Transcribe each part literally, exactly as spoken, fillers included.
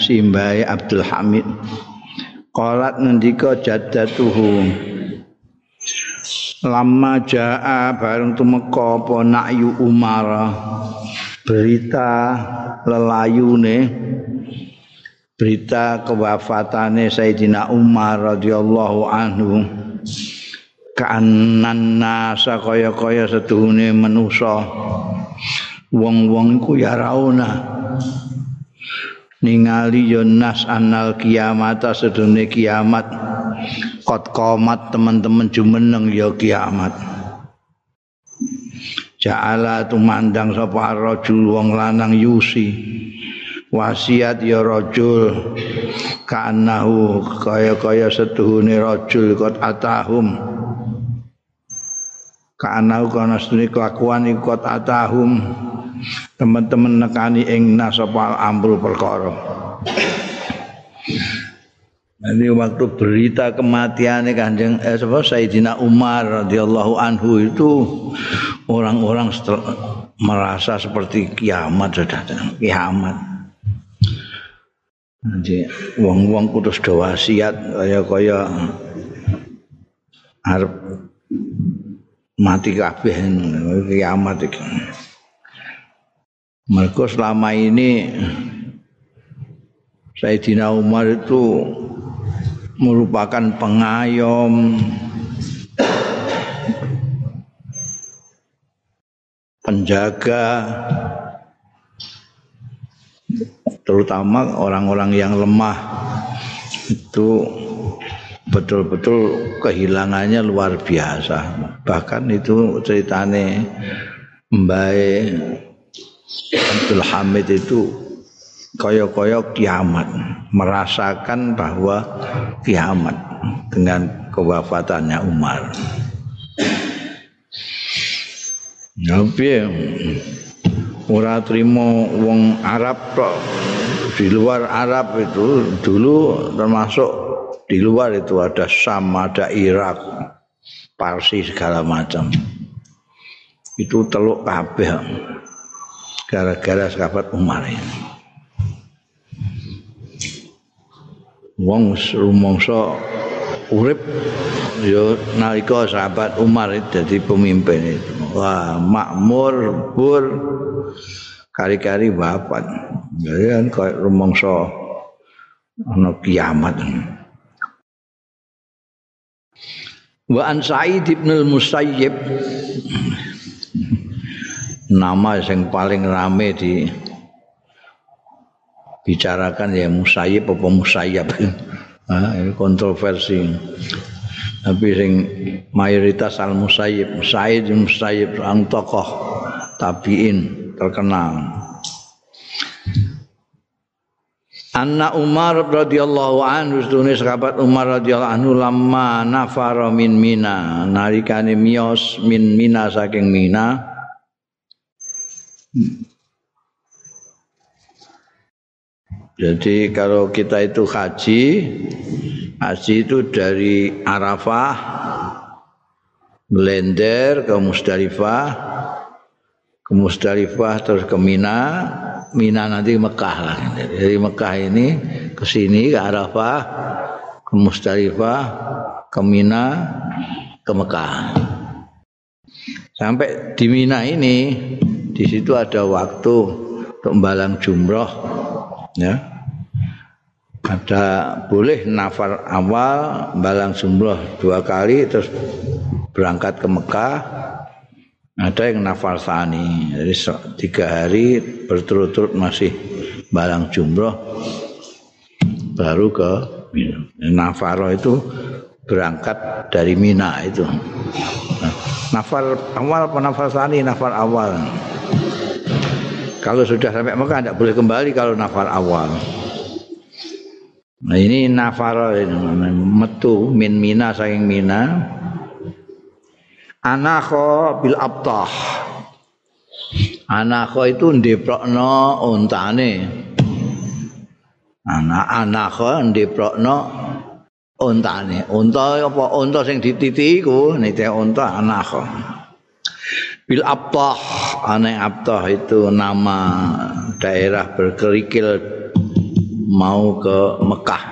simbahe Abdul Hamid. Qalat ngendika jaddatuhu lamma jaa bareng tumeka apa Na'yu Umar berita lelayune berita kewafatane Sayyidina Umar radhiyallahu anhu kaanan nasa kaya-kaya seduhune manusa wong-wong iku ya rauna ningali yo nas anal kiamat sedune kiamat kot qomat teman-teman jumeneng ya kiamat. Ja'ala tumandang sapa rajul wong lanang yusi wasiat ya rajul kanahu kaya-kaya setuhune rajul kot atahum kanahu kana sedune kelakuan iku kot atahum teman-teman nekani ing nasapa amrul perkara. Nanti waktu berita kematiannya Kanjeng eh, Sayyidina Umar radhiyallahu anhu itu orang-orang merasa seperti kiamat sudah kiamat. Nanti wong-wong kudu do wasiat kaya-kaya arep mati kabeh kiamat iki. Mereka selama ini Sayyidina Umar itu merupakan pengayom, penjaga, terutama orang-orang yang lemah itu betul-betul kehilangannya luar biasa. Bahkan itu ceritane Mbae Abdul Hamid itu koyo-koyo kiamat, merasakan bahwa kiamat dengan kewafatannya Umar. Tapi ora trimo wong Arab tok, di luar Arab itu dulu termasuk di luar itu ada Syam, ada Irak, Parsi segala macam. Itu teluk kabeh gara-gara sahabat Umar ini. Wong rumangsa urip ya nalika sahabat Umar dadi pemimpin itu. Wah, makmur, bur, kari-kari wafat. Jadi kan kaya rumangsa ana kiamat. Wa an Sa'id bin al-Musayyib nama yang paling rame di bicarakan ya Musayyib apa Musayyab. Nah, ini kontroversi. Tapi sing mayoritas al Musayyib, Sa'id bin Musayyib sang tokoh tabi'in terkenal. Anna Umar radhiyallahu anhu sedune sahabat Umar radhiyallahu anhu lamma nafara min Mina nalikane miyos min Mina saking Mina. Jadi kalau kita itu haji, haji itu dari Arafah, melender ke Musdalifah, ke Musdalifah terus ke Mina, Mina nanti Mekah lah. Dari Mekah ini ke sini ke Arafah, ke Musdalifah, ke Mina, ke Mekah. Sampai di Mina ini, di situ ada waktu untuk membalang jumroh. Ya, ada boleh nafar awal balang jumroh dua kali terus berangkat ke Mekah. Ada yang nafar tsani, jadi tiga hari berturut-turut masih balang jumroh baru ke Mina. Nafaro itu berangkat dari Mina itu. Nah, nafar awal apa nafar tsani? Nafar awal. Kalau sudah sampai Mekah tidak boleh kembali kalau nafar awal. Nah ini nafar metu min Mina saking Mina. Anakho bil abtah. Anakho itu ndeprokno untane. Anak anakho ndeprokno untane. Unta apa unta sing dititi iku nite unta anakho. Bil Abtah, aneh Abtah itu nama daerah berkerikil mau ke Mekah.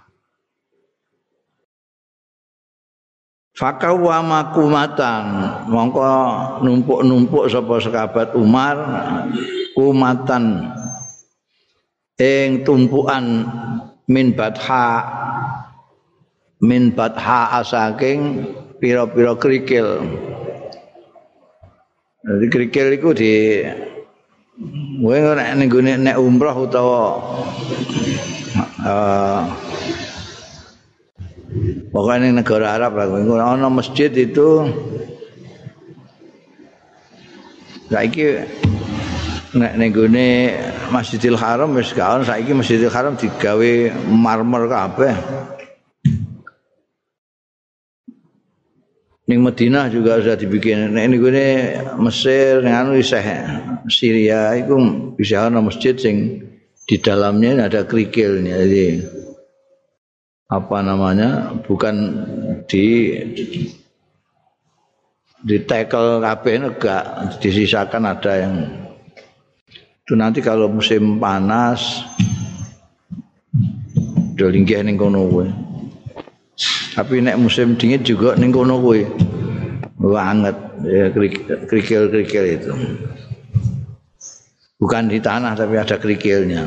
Fakawa makumatan mongko numpuk-numpuk sapa sahabat Umar kumatan ing tumpukan min batha min batha saking pira-pira krikil. Jadi krikil iku di kowe nek ning gone nek umrah utawa uh, pokoknya di negara Arab lah, ana masjid itu saiki nek ning gone Masjidil Haram wis gak ono, saiki Masjidil Haram digawe marmer kabeh. Ning Madinah juga sudah dibikin. Nek ning gone Mesir ning anu isih Syria iku bisa ana masjid sing di dalamnya ada kerikilnya. Jadi apa namanya, bukan di di tackle kabeh enggak, disisakan ada yang itu nanti kalau musim panas do linggih ning kono kowe. Tapi nek musim dingin juga ning kono kowe. Banget ya, kerikil-kerikil itu. Bukan di tanah tapi ada kerikilnya.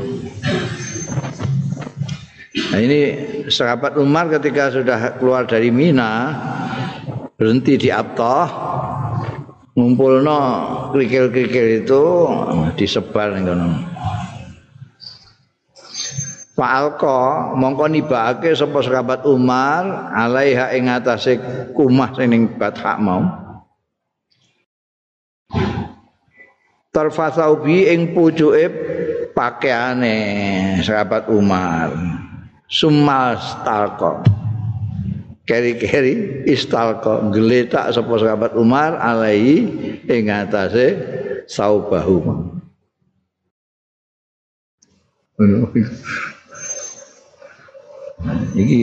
Nah ini sahabat Umar ketika sudah keluar dari Mina berhenti di Abtah, ngumpulno kerikil-kerikil itu disebar ning kono. Fa'alqa mongko nibake sapa sahabat Umar alaiha ing atase kumah sing ning Bathak mau. Tarfasaubi ing pucuke pakaiane sahabat Umar. Summal stalqa keri-keri istalqa geletak sapa sahabat Umar alai ing atase saubahu. Iki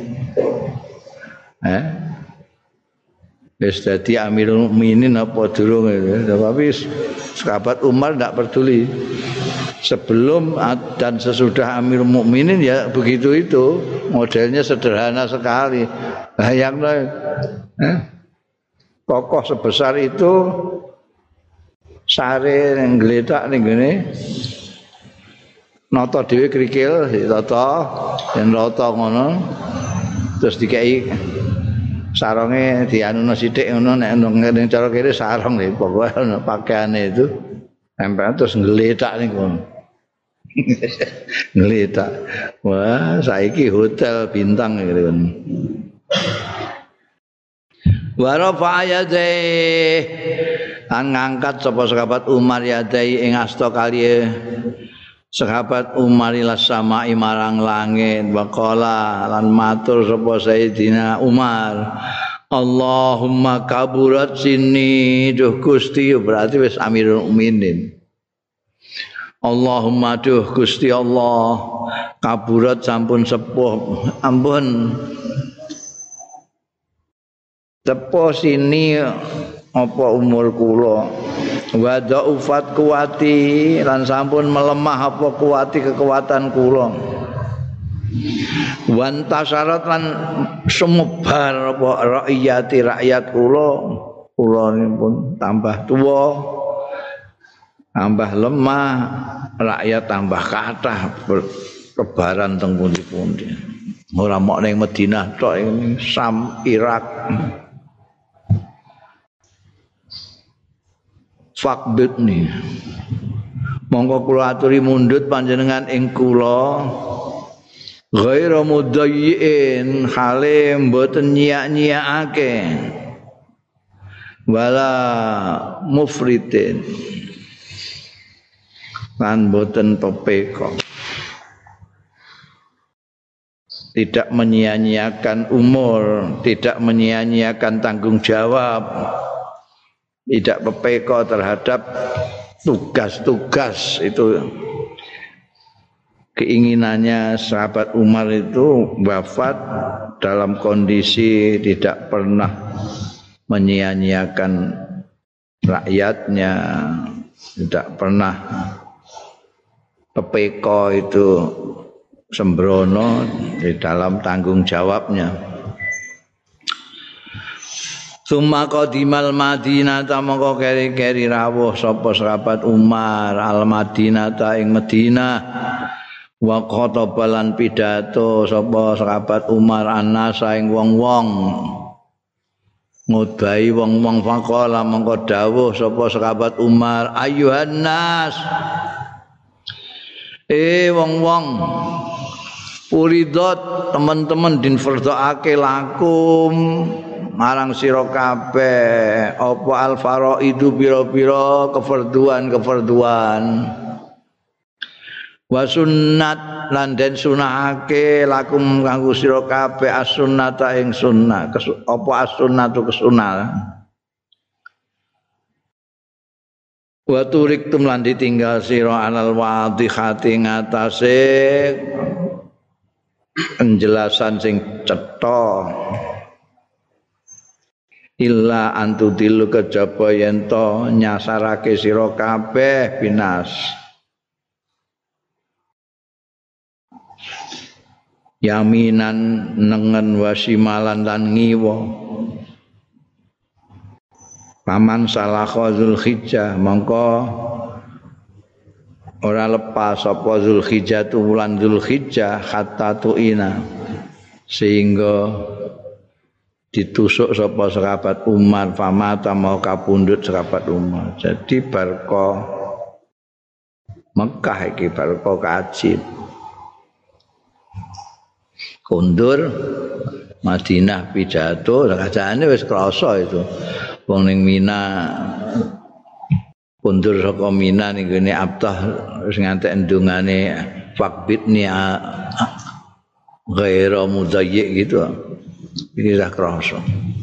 eh wis dadi Amirul Mukminin apa durung itu. Tapi sahabat Umar tidak peduli. Sebelum dan sesudah Amirul Mukminin ya begitu itu, modelnya sederhana sekali. Bayangno eh, kokoh sebesar itu sare ning gletak ning ngene nata dhewe krikil ditata yen rata ngono terus dikai saronge dianuno sithik ngono nek ning cara kene sarong lho pokoke ana pakaiane itu tempel terus ngletak ning kono. Ngletak. Wah, saiki hotel bintang gitu. Wa rafa yadai an ngangkat sapa sahabat Umar yadai ing asta kaliye sahabat Umar ila samai marang langit waqala lan matur sapa Sayyidina Umar Allahumma kaburat sini duh Gusti berarti wis Amirul Mukminin. Allahumma duh Gusti Allah kaburat sampun sepuh ampun tepo sini apa umur kula wa dhaufat kuwati lan sampun melemah apa kuwati kekuatan kula wan tasyarat lan sumebar apa rakyati rakyat kula kula pun tambah tua tambah lemah rakyat tambah kathah kebaran teng pundi-pundi ora mok ning Madinah tok ning Sam Irak. Fakbitni mongko kula aturi mundhut panjenengan ing kula ghairu mudayyin hale mboten nyiak-nyiakake wala mufritin lan mboten pepeka tidak menyia-nyiakan umur tidak menyia-nyiakan tanggung jawab tidak pepeka terhadap tugas-tugas itu. Keinginannya sahabat Umar itu wafat dalam kondisi tidak pernah menyia-nyiakan rakyatnya, tidak pernah pepeka itu sembrono di dalam tanggung jawabnya. Summa qadimal Madinah ta mongko keri-keri rawuh sapa sahabat Umar al Madinah ta ing Madinah wa khatabalan pidato sapa sahabat Umar annasa ing wong-wong ngudai wong-wong faqala mongko dawuh sapa sahabat Umar ayuhan nas eh wong-wong uridot teman-teman din fardhaake lakum marang sira kabeh apa al faraidu pira-pira kefarduan-kefarduan wa sunnat lan den sunahake lakum kanggo sira kabeh as-sunnata ing sunnah apa as-sunnatu kesunah wa turiktum lan ditinggal sira alal wadihati ngatasé penjelasan sing cetha illa antudilu kejaba yen to nyasarake sira kabeh binas yaminan nengen wasimalan lan ngiwa paman salakha Zulhijjah mongko ora lepas apa Zulhijjah tu wulan Zulhijjah hatta tuina sehingga ditusuk sapa sahabat Umar famata mau kapundhut sahabat Umar. Jadi barko Mekah iki barko kaji. Kundur Madinah pidato kajane wis krasa itu. Wong ning Mina kundur saka Mina ning gene Abtah wis ngantek endungane fakbitni ghaira mudayyi gitu. Ini dah kerasa.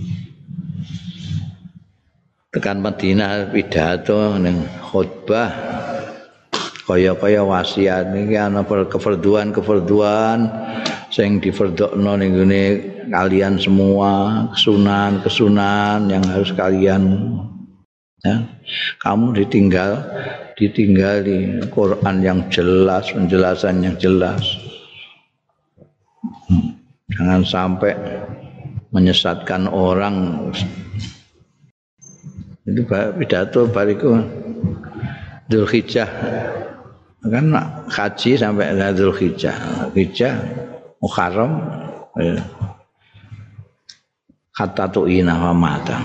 Tekan Madinah pidato ning khutbah kaya-kaya wasiat niki ana kefarduan-kefarduan sing difardhokno ning ngene kalian semua, kesunan-kesunan yang harus kalian ya. Kamu ditinggal ditinggali Quran yang jelas, penjelasan yang jelas. Hmm. Jangan sampai menyesatkan orang. Itu pidato bariku Dzulhijjah kan haji sampai Dzulhijjah. Dzulhijjah Muharram hatta tu'ina wa mata.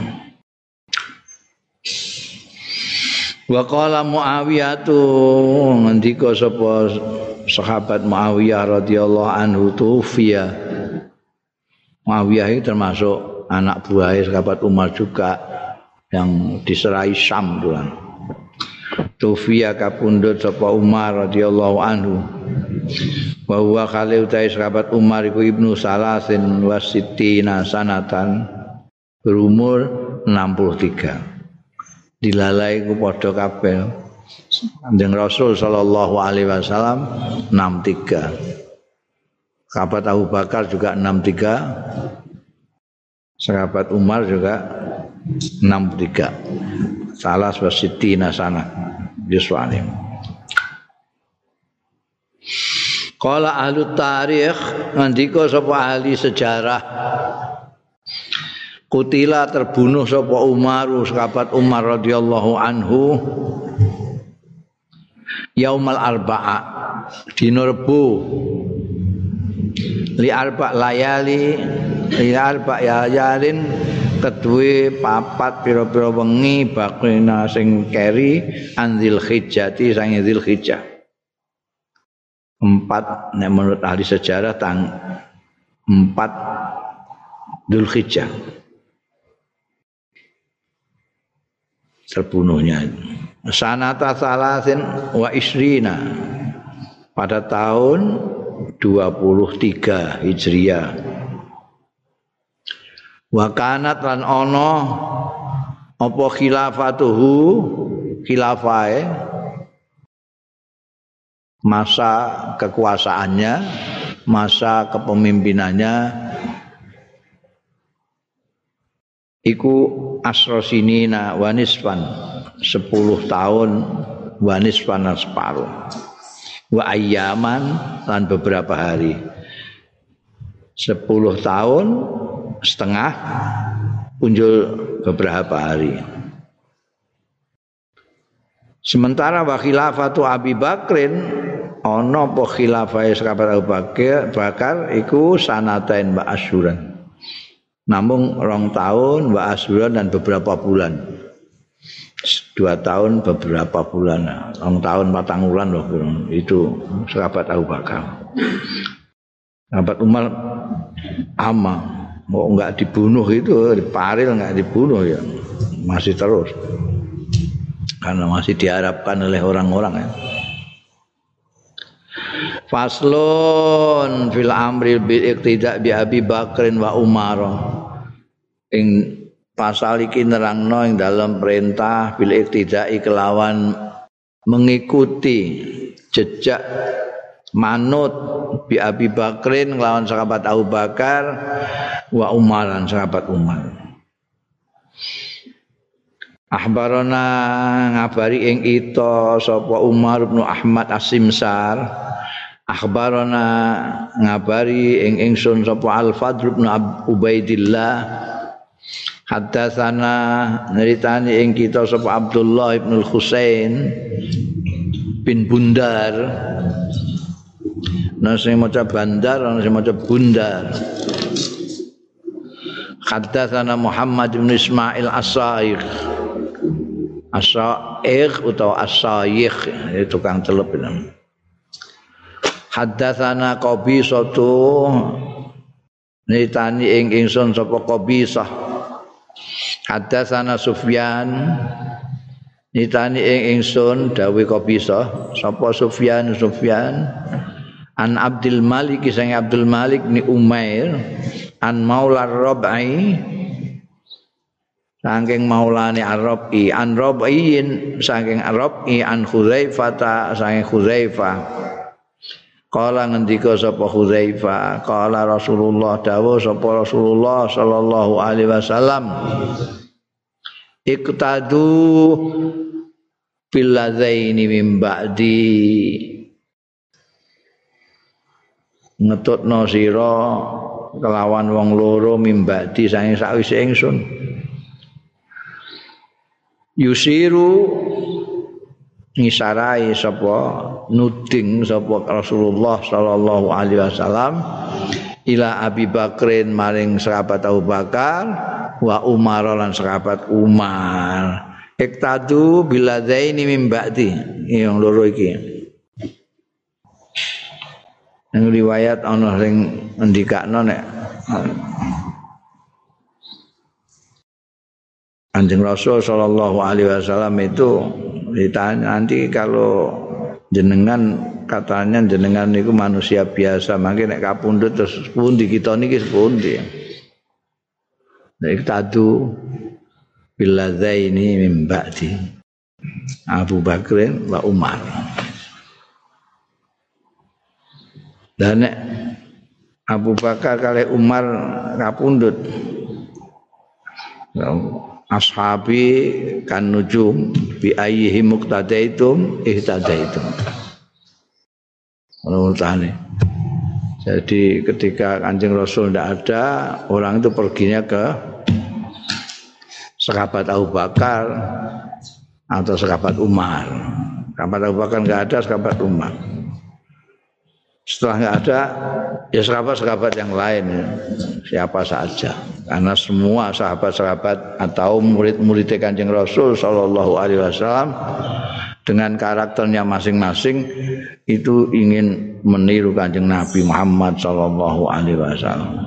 Wa qala Muawiyah tu ngendika sapa sahabat Muawiyah radhiyallahu anhu tufiya. Muawiyah itu termasuk anak buah sahabat Umar juga yang diserai Syam tuan. Tufiya kapundhut sapa Umar radhiyallahu anhu. Wa huwa khali utai sahabat Umar iku ibnu salasin wasittina sanatan berumur enam puluh tiga. Dilalai ku padha kabeh. Kanjeng Rasul sallallahu alaihi wasallam enam puluh tiga. Sahabat Abu Bakar juga enam puluh tiga. Sahabat Umar juga enam puluh tiga. Salas wasittina sana yuswanim. Qala ahli tarikh ngendika sapa ahli sejarah kutila terbunuh sapa Umar sahabat Umar radhiyallahu anhu yaumal arba'a dina Rebo li arba layali li arba yalin kedue papat pira-pira wengi bakrina sing keri anzil hijjati sang dzil hijjah empat nek menurut ahli sejarah tang empat Dzulhijjah terbunuhnya sanata salasin wa isrina pada tahun dua puluh tiga Hijriah wa kanat lan ana apa khilafatuhu khilafae masa kekuasaannya masa kepemimpinannya iku asrosinina wanisfan sepuluh tahun wanisfan separuh wa ayyaman lan beberapa hari. Sepuluh tahun setengah punjul beberapa hari. Sementara wa khilafatu Abi Bakrin ana apa khilafahe sahabat Abu Bakar bakar iku sanatain wa asyuran. Namung rong tahun wa asyuran dan beberapa bulan. Dua tahun beberapa bulan. Rong tahun patang bulan loh itu sahabat Abu Bakar. Sahabat Umar ama mau enggak dibunuh itu diparil enggak dibunuh ya masih terus. Karena masih diharapkan oleh orang-orang ya. Faslun fil amri bil iqtida bi Abi Bakrin wa Umar. Ing pasal iki nerangno ing dalam perintah bil iqtida'i kelawan mengikuti jejak manut bi Abi Bakrin kelawan sahabat Abu Bakar wa Umar lan sahabat Umar. Akhbarana ngabari ing ita sapa Umar bin Ahmad As-Simsar. Akhbarana ngabari ing ingsun sapa Al-Fadl bin Ubaidillah. Haddatsana neritani ing kita sapa Abdullah bin Husain bin Bundar. Nah sing maca Bandar, ana sing maca Bundar. Haddatsana Muhammad bin Ismail As-Sa'ikh. As-Sa'ikh utawa As-Sa'ikh itu tukang celup itu. Haddatsana Qabisatu nitani ing ingsun sapa Qabisah. Haddatsana Sufyan nitani ing ingsun dawuh Qabisah sapa Sufyan Sufyan an Abdul Malik sang Abdul Malik ni Umair an Maula Rabai saking maulane Ar-Rabi an Rabiin saking Ar-Rabi an Hudzaifah saking Hudzaifah qala ngendika sapa Hudzaifah qala Rasulullah dawuh sapa Rasulullah sallallahu alaihi wasallam iqtadu bil ladzaini min ba'di ngetutno sira kelawan wong loro min ba'di saking sakwise ingsun yusiru ngisarai sapa nuding sapa Rasulullah sallallahu alaihi wasallam ila Abi Bakrin maring sahabat Abu Bakar wa Umar lan sahabat Umar iktadu biladzaini min ba'di yang loro iki yang riwayat ana sing ngendikakno nek Kanjeng Rasul sallallahu alaihi wasallam itu ditanya nanti kalau jenengan katanya jenengan niku manusia biasa mangke nek kapundhut terus pundi kita niki pundi. Nek tadu billadzaini min ba'di Abu Bakrin wa Umar. Dan nek Abu Bakar kali Umar kapundhut ashabi kan nujum bi ayyihi muqtadaitum ihtadaitum. Menurutane. Jadi ketika Kanjeng Rasul tidak ada, orang itu perginya ke sahabat Abu Bakar atau sahabat Umar. Sahabat Abu Bakar enggak ada, sahabat Umar. Setelah enggak ada, ya sahabat-sahabat yang lain ya. Siapa saja. Karena semua sahabat-sahabat atau murid-murid Kanjeng Rasul sallallahu alaihi wasallam dengan karakternya masing-masing itu ingin meniru Kanjeng Nabi Muhammad sallallahu alaihi wasallam.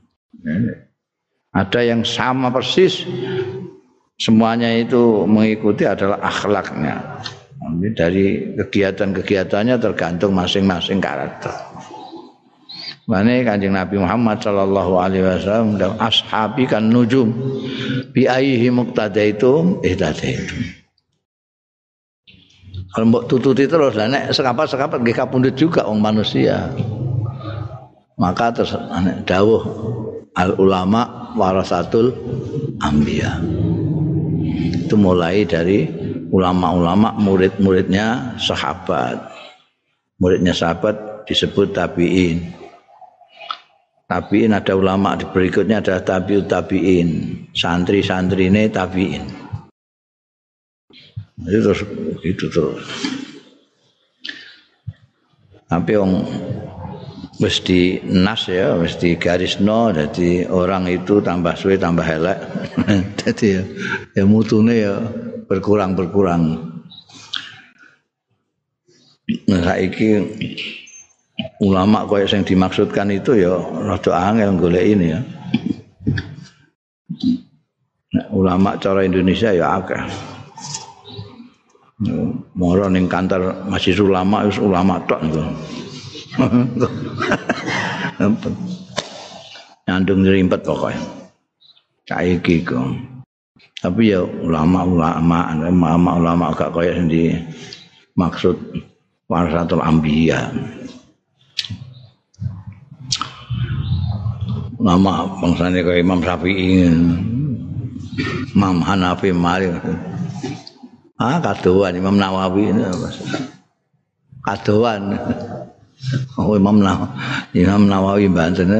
Ada yang sama persis, semuanya itu mengikuti adalah akhlaknya. Dari kegiatan-kegiatannya tergantung masing-masing karakter. Mane Kanjeng Nabi Muhammad sallallahu alaihi wasallam dan ashabi kan nujum bi ayyihi muqtadaitum ihtadaitum. Kalau mbok tututi terus lah nek sekapat-sekapat nggih kapundhut juga wong manusia. Maka terus dawuh al ulama warasatul anbiya. Itu mulai dari ulama-ulama murid-muridnya sahabat. muridnya sahabat disebut tabi'in. Tabi'in ada ulama di berikutnya adalah tabi'ut tabi'in, santri-santrine tabi'in. Itu terus gitu terus. Tapi yang wis di nas ya, wis di garisno, jadi orang itu tambah suwe tambah elek. Jadi ya, ya mutune ya berkurang-berkurang. Nah, saiki ulama kaya yang dimaksudkan itu ya rada angel golek ini ya. Nah, ulama cara Indonesia ya akeh. Moro ning kantor masjid ulama wis ulama tok niku. Nyandung rimpet pokoknya. Saiki kok. Tapi ya ulama-ulama, ulama-ulama gak kaya sing dimaksud warasatul anbiya. Ulama bangsane kaya Imam Syafi'i, Imam Hanafi, Malik. Ah, kadoan Imam Nawawi ini apa? Kadoan. Oh, Imam Nawawi, Imam Nawawi Banten.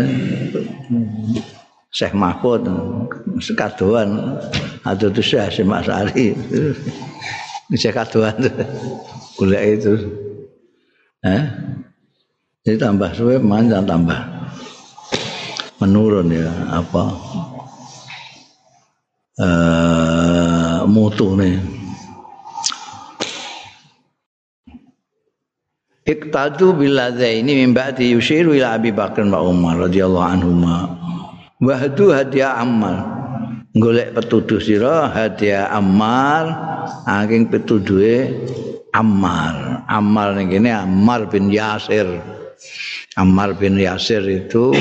Syekh Mahfud sekadoan atau itu Syekh Simak Sari. Syekh kadoan. Golek itu. Eh? Jadi tambah suwe manjang tambah menurun ya apa? Eh mutu nih. Iqtadu billadzaini min ba'di yushiru ila Abi Bakar wa Umar radhiyallahu anhuma. Wa hadu hadiah Ammar. Golek petuduh sira hadiah Ammar saking petuduhe Ammar. Ammar ning kene Ammar bin Yasir. Ammar bin Yasir itu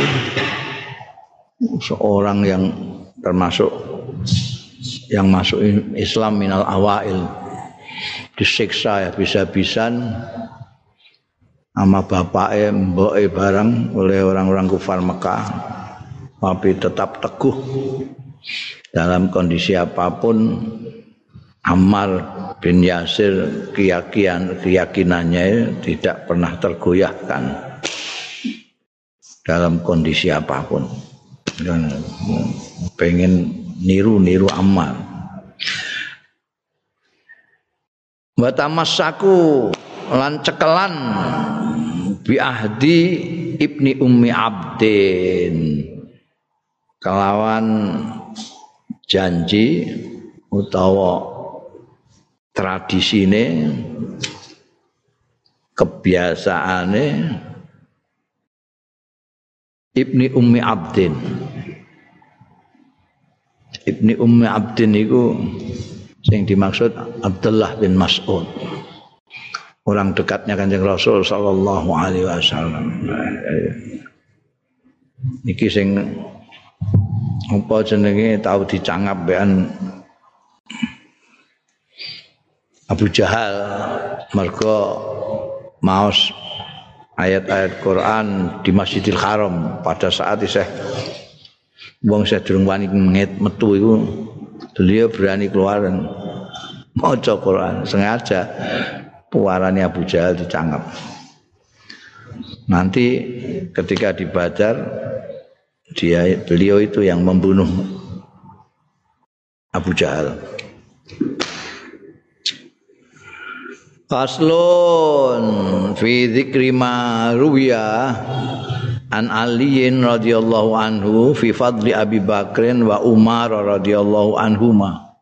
seorang yang termasuk yang masuk Islam minal awail. Disiksa ya bisa-bisan sama bapaknya, mboknya bareng oleh orang-orang kufar Mekah, tapi tetap teguh dalam kondisi apapun. Ammar bin Yasir keyakinan keyakinannya tidak pernah tergoyahkan dalam kondisi apapun. Dan pengen niru-niru Ammar. Wa tamassaku lan cekelan bi ahdi Ibni Ummi Abdin kelawan janji utawa tradisine kebiasaane Ibni Ummi Abdin. Ibni Ummi Abdin itu yang dimaksud Abdullah bin Mas'ud, orang dekatnya Kanjeng Rasul sallallahu alaihi wasallam. Niki sing apa jenenge tau dicangap bean Abu Jahal mergo maos ayat-ayat Quran di Masjidil Haram pada saat isih wong sing durung wani metu iku beliau berani keluar dan maca Quran sengaja puarane Abu Jahal dicangap. Nanti ketika di Badar dia beliau itu yang membunuh Abu Jahal. Faslun fi dzikri ma ruwiya an Aliin radhiyallahu anhu fi fadli Abi Bakrin wa Umar radhiyallahu anhuma.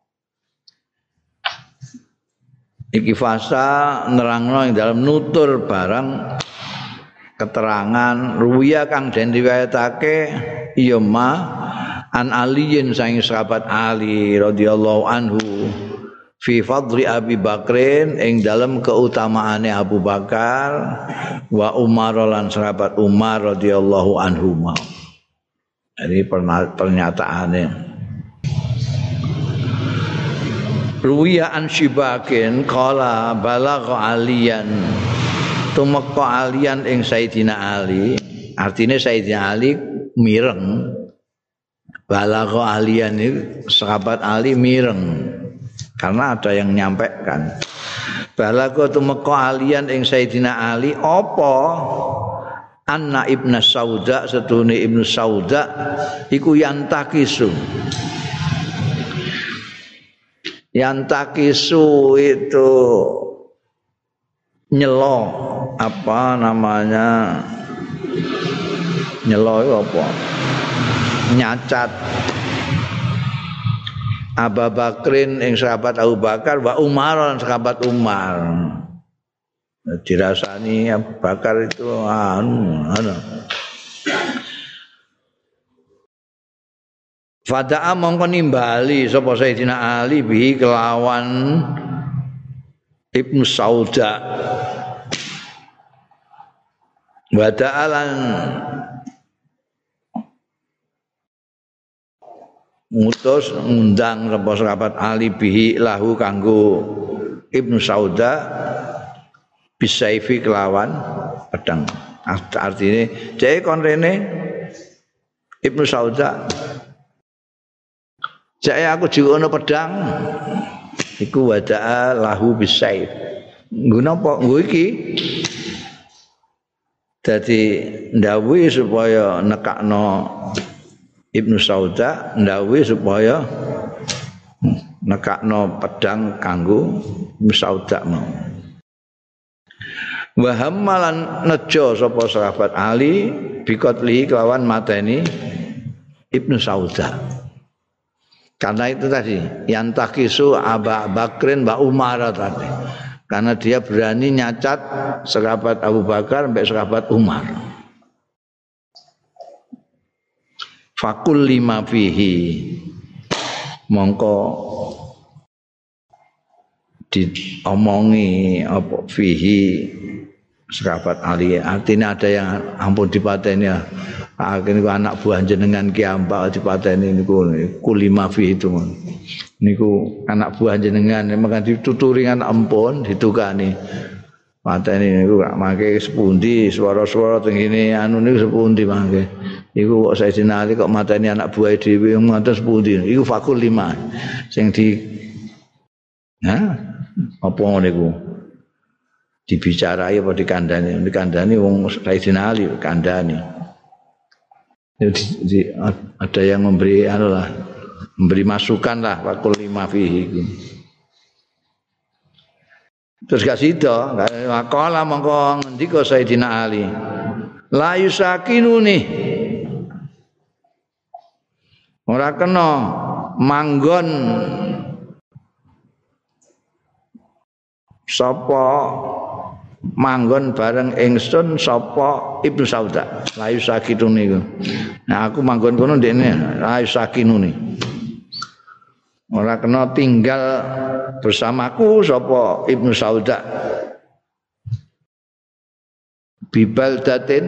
Iki fasa nerangno ing dalam nutur barang keterangan ruwiya kang den riwayatake ya ma an Aliin saking sahabat Ali radhiyallahu anhu fi fadli Abi Bakrin ing dalam keutamaane Abu Bakar wa Umar lan sahabat Umar radhiyallahu anhuma. Ini pernyataane ruwiya an Syibakin qala balagha Aliyan tumeka Aliyan ing Sayyidina Ali, artinya Sayyidina Ali mireng. Balagha Aliyan itu sahabat Ali mireng karena ada yang nyampaikan Balago tumeka alian ing Sayyidina Ali apa anna Ibnu Sauda sedune Ibnu Sauda iku yantakisu. Yantakisu itu nyelo apa namanya? Nyelo itu apa? Nyacat Abu Bakrin ing sahabat Abu Bakar wa Umar lan sahabat Umar. Dirasani Abu Bakar itu anu anu. Fada'a mongko nimbali sapa Sayyidina Ali bi kelawan Ibnu Sauda. Wada'alan ngutus ngundang sapa sahabat Ali bihi lahu kanggo Ibnu Sauda bisaifi kelawan pedang. Artine dhek kon rene Ibnu Sauda. Jek aku diwono pedang iku wada'a lahu bisaif. Nggo napa? Nggo iki dadi ndawuhi supaya nekakno Ibnu Sauda ndawuhi supaya nekakno pedang kanggo Ibnu Sauda mau. Wa hammalan nejo sapa sahabat Ali bikotli kelawan mateni Ibnu Sauda. Karena itu tadi yang takisu Abu Bakrin Mbak Umar tadi. Karena dia berani nyacat sahabat Abu Bakar sampai sahabat Umar. Fakul lima fihi mongko diomongi apa fihi sahabat Ali. Artinya ada yang ampun dipateni ya. Akhirnya anak buah jenengan kiambak dipateni niku kulima fihi itu. Niku anak buah jenengan memang dituturi kan ampun ditukani. Pateni niku gak mangke sepundi swara-swara teng ngene anu niku sepundi mangke. Iku kok Sayyidina Ali kok mateni anak buah dhewe ngoten sepundi. Iku fakul lima sing di ha apa niku dibicarai apa dikandani dikandani wong Sayyidina Ali kandani. Jadi ada yang memberi anu lah memberi masukan lah fakul lima fihi. Terus gak sida kala mongko ngendika Sayyidina Ali la yusakinuni ora kena manggon sapa manggon bareng ingsun sapa Ibnu Sauda la yusakinuni iku. Nah aku manggon kono ndekne la yusakinuni. Ora kena tinggal bersamaku sapa Ibnu Sauda. Bibal datin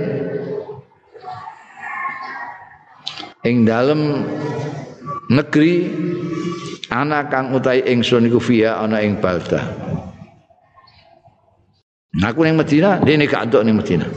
ing dalem negeri ana kang utahe ingsun iku fiya ana ing Balda. Aku ning Madinah, dene gak entuk ning Madinah.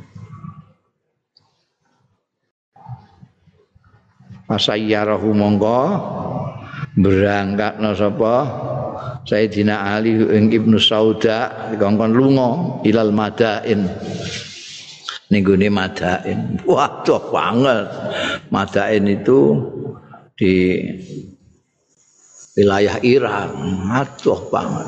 Pasayyarahu mongko berangkatna sapa Sayyidina Ali ing Ibnu Sauda dikongkon lunga ilal Madain. Ning gone Madain. Wah, tuh banget. Madain itu di wilayah Iran. Aduh banget.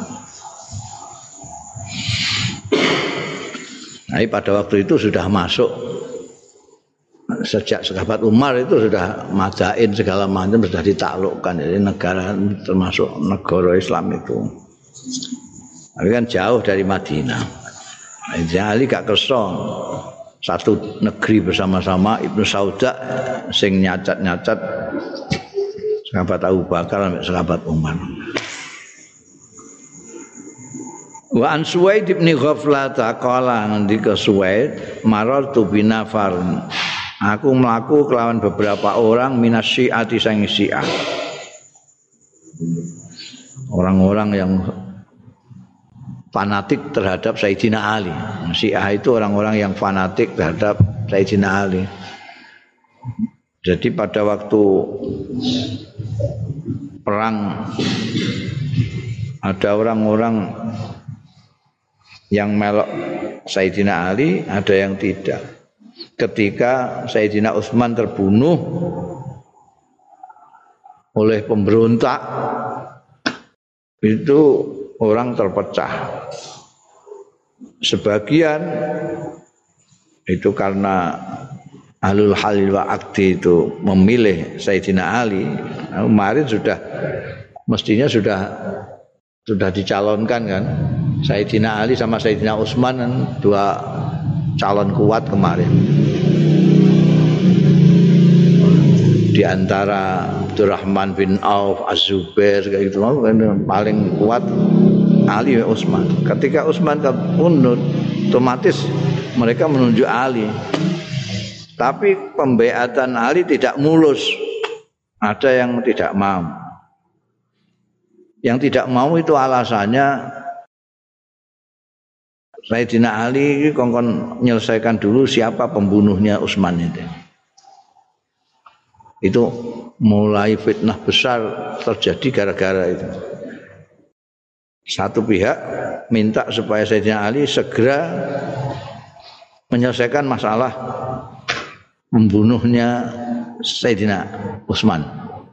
Nah, pada waktu itu sudah masuk sejak sahabat Umar itu sudah Madain segala macam sudah ditaklukkan, jadi negara termasuk negara Islam itu. Tapi kan jauh dari Madinah. Jadi Ali gak kerso satu negeri bersama-sama Ibnu Sauda sing nyacat-nyacat sahabat Abu Bakar sampai sahabat Umar. Wa an Suwaid bin Ghaflah taqala ngendika Suwaid marartu binafar. Aku mlaku kelawan beberapa orang minas Syi'ati sang Syiah. Orang-orang yang fanatik terhadap Sayyidina Ali. Syiah itu orang-orang yang fanatik terhadap Sayyidina Ali. Jadi pada waktu perang ada orang-orang yang melok Sayyidina Ali, ada yang tidak. Ketika Sayyidina Utsman terbunuh oleh pemberontak, itu orang terpecah. Sebagian itu karena Ahlul Halil wa Aqdi itu memilih Sayyidina Ali. Nah, kemarin sudah mestinya sudah sudah dicalonkan kan, Sayyidina Ali sama Sayyidina Utsman kan, dua calon kuat kemarin. Di antara Abdurrahman bin Auf, Az-Zubair kayak gitu, paling kuat Ali dan Utsman. Ketika Utsman kabundut, otomatis mereka menunjuk Ali. Tapi pembeatan Ali tidak mulus. Ada yang tidak mau. Yang tidak mau itu alasannya Sayyidina Ali kongkon menyelesaikan dulu siapa pembunuhnya Utsman itu. Itu mulai fitnah besar terjadi gara-gara itu. Satu pihak minta supaya Sayyidina Ali segera menyelesaikan masalah membunuhnya Sayyidina Utsman.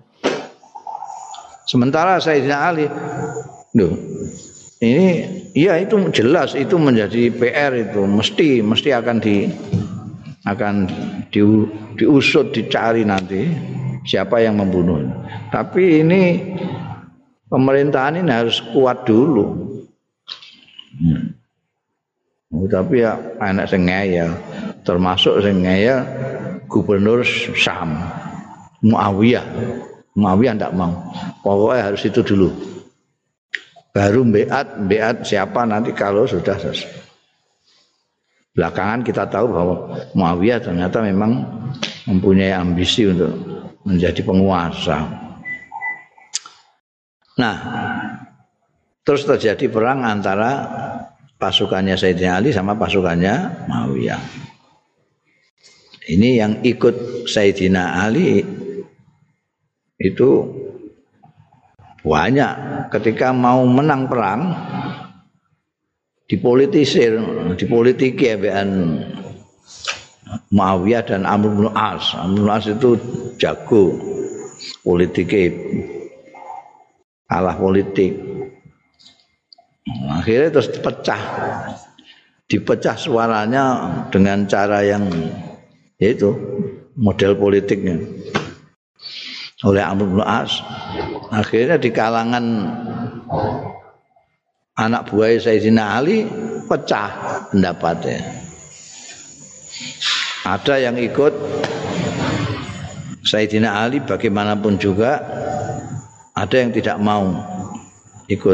Sementara Sayyidina Ali, loh, ini ya itu jelas itu menjadi P R itu mesti mesti akan di akan di, diusut dicari nanti siapa yang membunuh. Tapi ini pemerintahan ini harus kuat dulu. Hmm. Oh, tapi ya anak sing ngeyel, termasuk sing ngeyel Gubernur Syam Muawiyah. Muawiyah tidak mau. Pokoknya harus itu dulu. Baru beat, beat siapa nanti kalau sudah selesai. Belakangan kita tahu bahwa Muawiyah ternyata memang mempunyai ambisi untuk menjadi penguasa. Nah, terus terjadi perang antara pasukannya Sayyidina Ali sama pasukannya Muawiyah. Ini yang ikut Sayyidina Ali itu banyak. Ketika mau menang perang dipolitisir, dipolitiki ambekan Muawiyah dan Amr bin As. Amr bin As itu jago politiknya, kalah politik. Akhirnya terus pecah, dipecah suaranya dengan cara yang yaitu model politiknya oleh Amr bin As. Akhirnya di kalangan anak buah Sayyidina Ali pecah pendapatnya. Ada yang ikut Sayyidina Ali bagaimanapun juga, ada yang tidak mau ikut.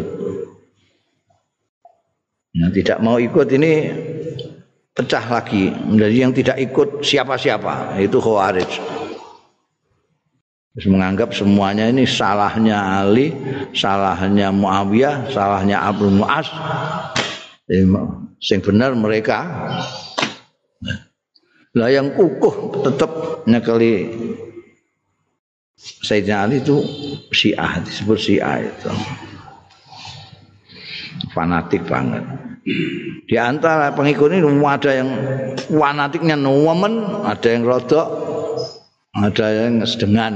Yang tidak mau ikut ini pecah lagi menjadi yang tidak ikut siapa-siapa, itu Khawarij. Terus menganggap semuanya ini salahnya Ali, salahnya Muawiyah, salahnya Amr bin As. Yang benar mereka. Lah yang kukuh tetap nyekeli Sayyidina Ali itu Syiah, disebut Syiah itu. Fanatik banget. Di antara pengikut ini ada yang fanatiknya nemen, ada yang rodok, ada yang sedengan.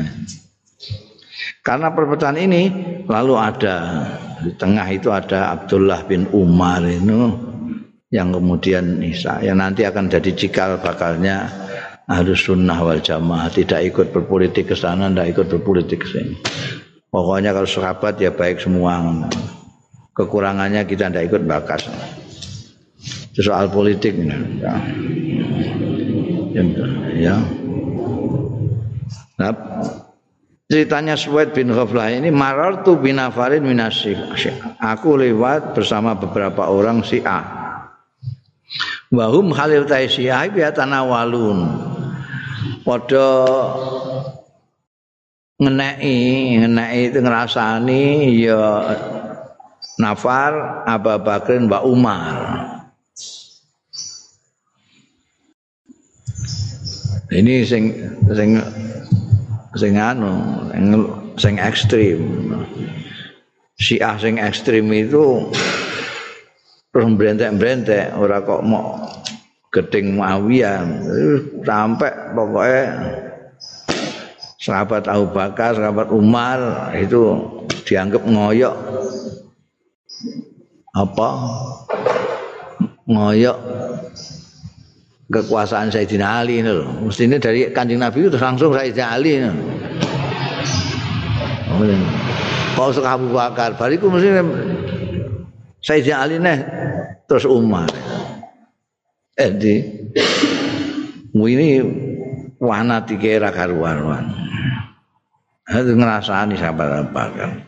Karena perpecahan ini lalu ada di tengah itu ada Abdullah bin Umar itu yang kemudian Isa yang nanti akan jadi cikal bakalnya Ahlus Sunnah wal Jamaah, tidak ikut berpolitik ke sana, tidak ikut berpolitik ke sini. Pokoknya kalau sahabat ya baik semua. Kekurangannya kita tidak ikut bakas. Itu soal politik ya. Ya. Nah, ceritanya Suwaid bin Ghaflah ini marartu binafarin minasy. Aku lewat bersama beberapa orang Syiah. Wahum halil tai Syiah bi tanawalun. Padha ngeneki, ngeneki itu ngrasani ya nafar Abu Bakrin wa Umar. Ini sing sing sing anu sing ekstrim. Syiah sing ekstrim itu terus brentek-brentek ora kok mau gedeng Muawiyah sampai pokoknya sahabat Abu Bakar, sahabat Umar itu dianggap ngoyok apa ngoyok kekuasaan Sayyidina Ali ini loh. Mestinya dari Kanjeng Nabi itu langsung Sayyidina Ali ini. Kalau suka Abu Bakar, bariku mestinya Sayyidina Ali nih terus Umar. Eh di ini wana tikera karuan. Itu ngerasani sahabat Bakar.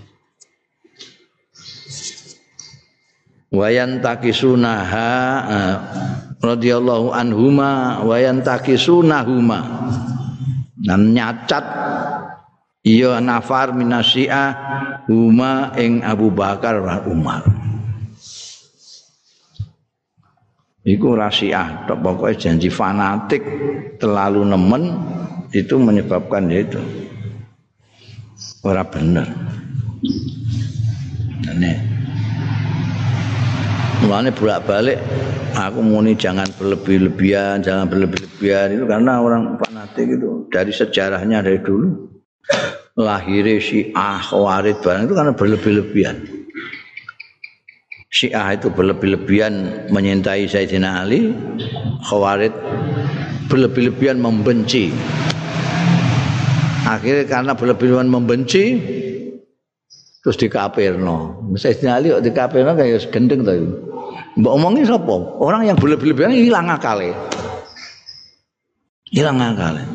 Wayan takisunaha radhiyallahu anhuma wayan takisunahuma dan nyacat iya nafar minasyiah huma ing Abu Bakar lan Umar iku rasiah tok pokoke janji fanatik terlalu nemen itu menyebabkan itu ora bener nek mulanya bolak-balik aku muni jangan berlebih-lebihan, jangan berlebih-lebihan itu karena orang fanatik itu dari sejarahnya dari dulu lahirnya Syiah, Khawarij barang itu karena berlebih-lebihan. Syiah itu berlebih-lebihan menyintai Sayyidina Ali, Khawarij berlebih-lebihan membenci. Akhirnya karena berlebih-lebihan membenci terus dikafirno. Sayyidina Ali kok dikafirno kayak gendeng to. Mbok omongi sapa? Orang yang berlebih-lebihan hilang akale. Hilang akale.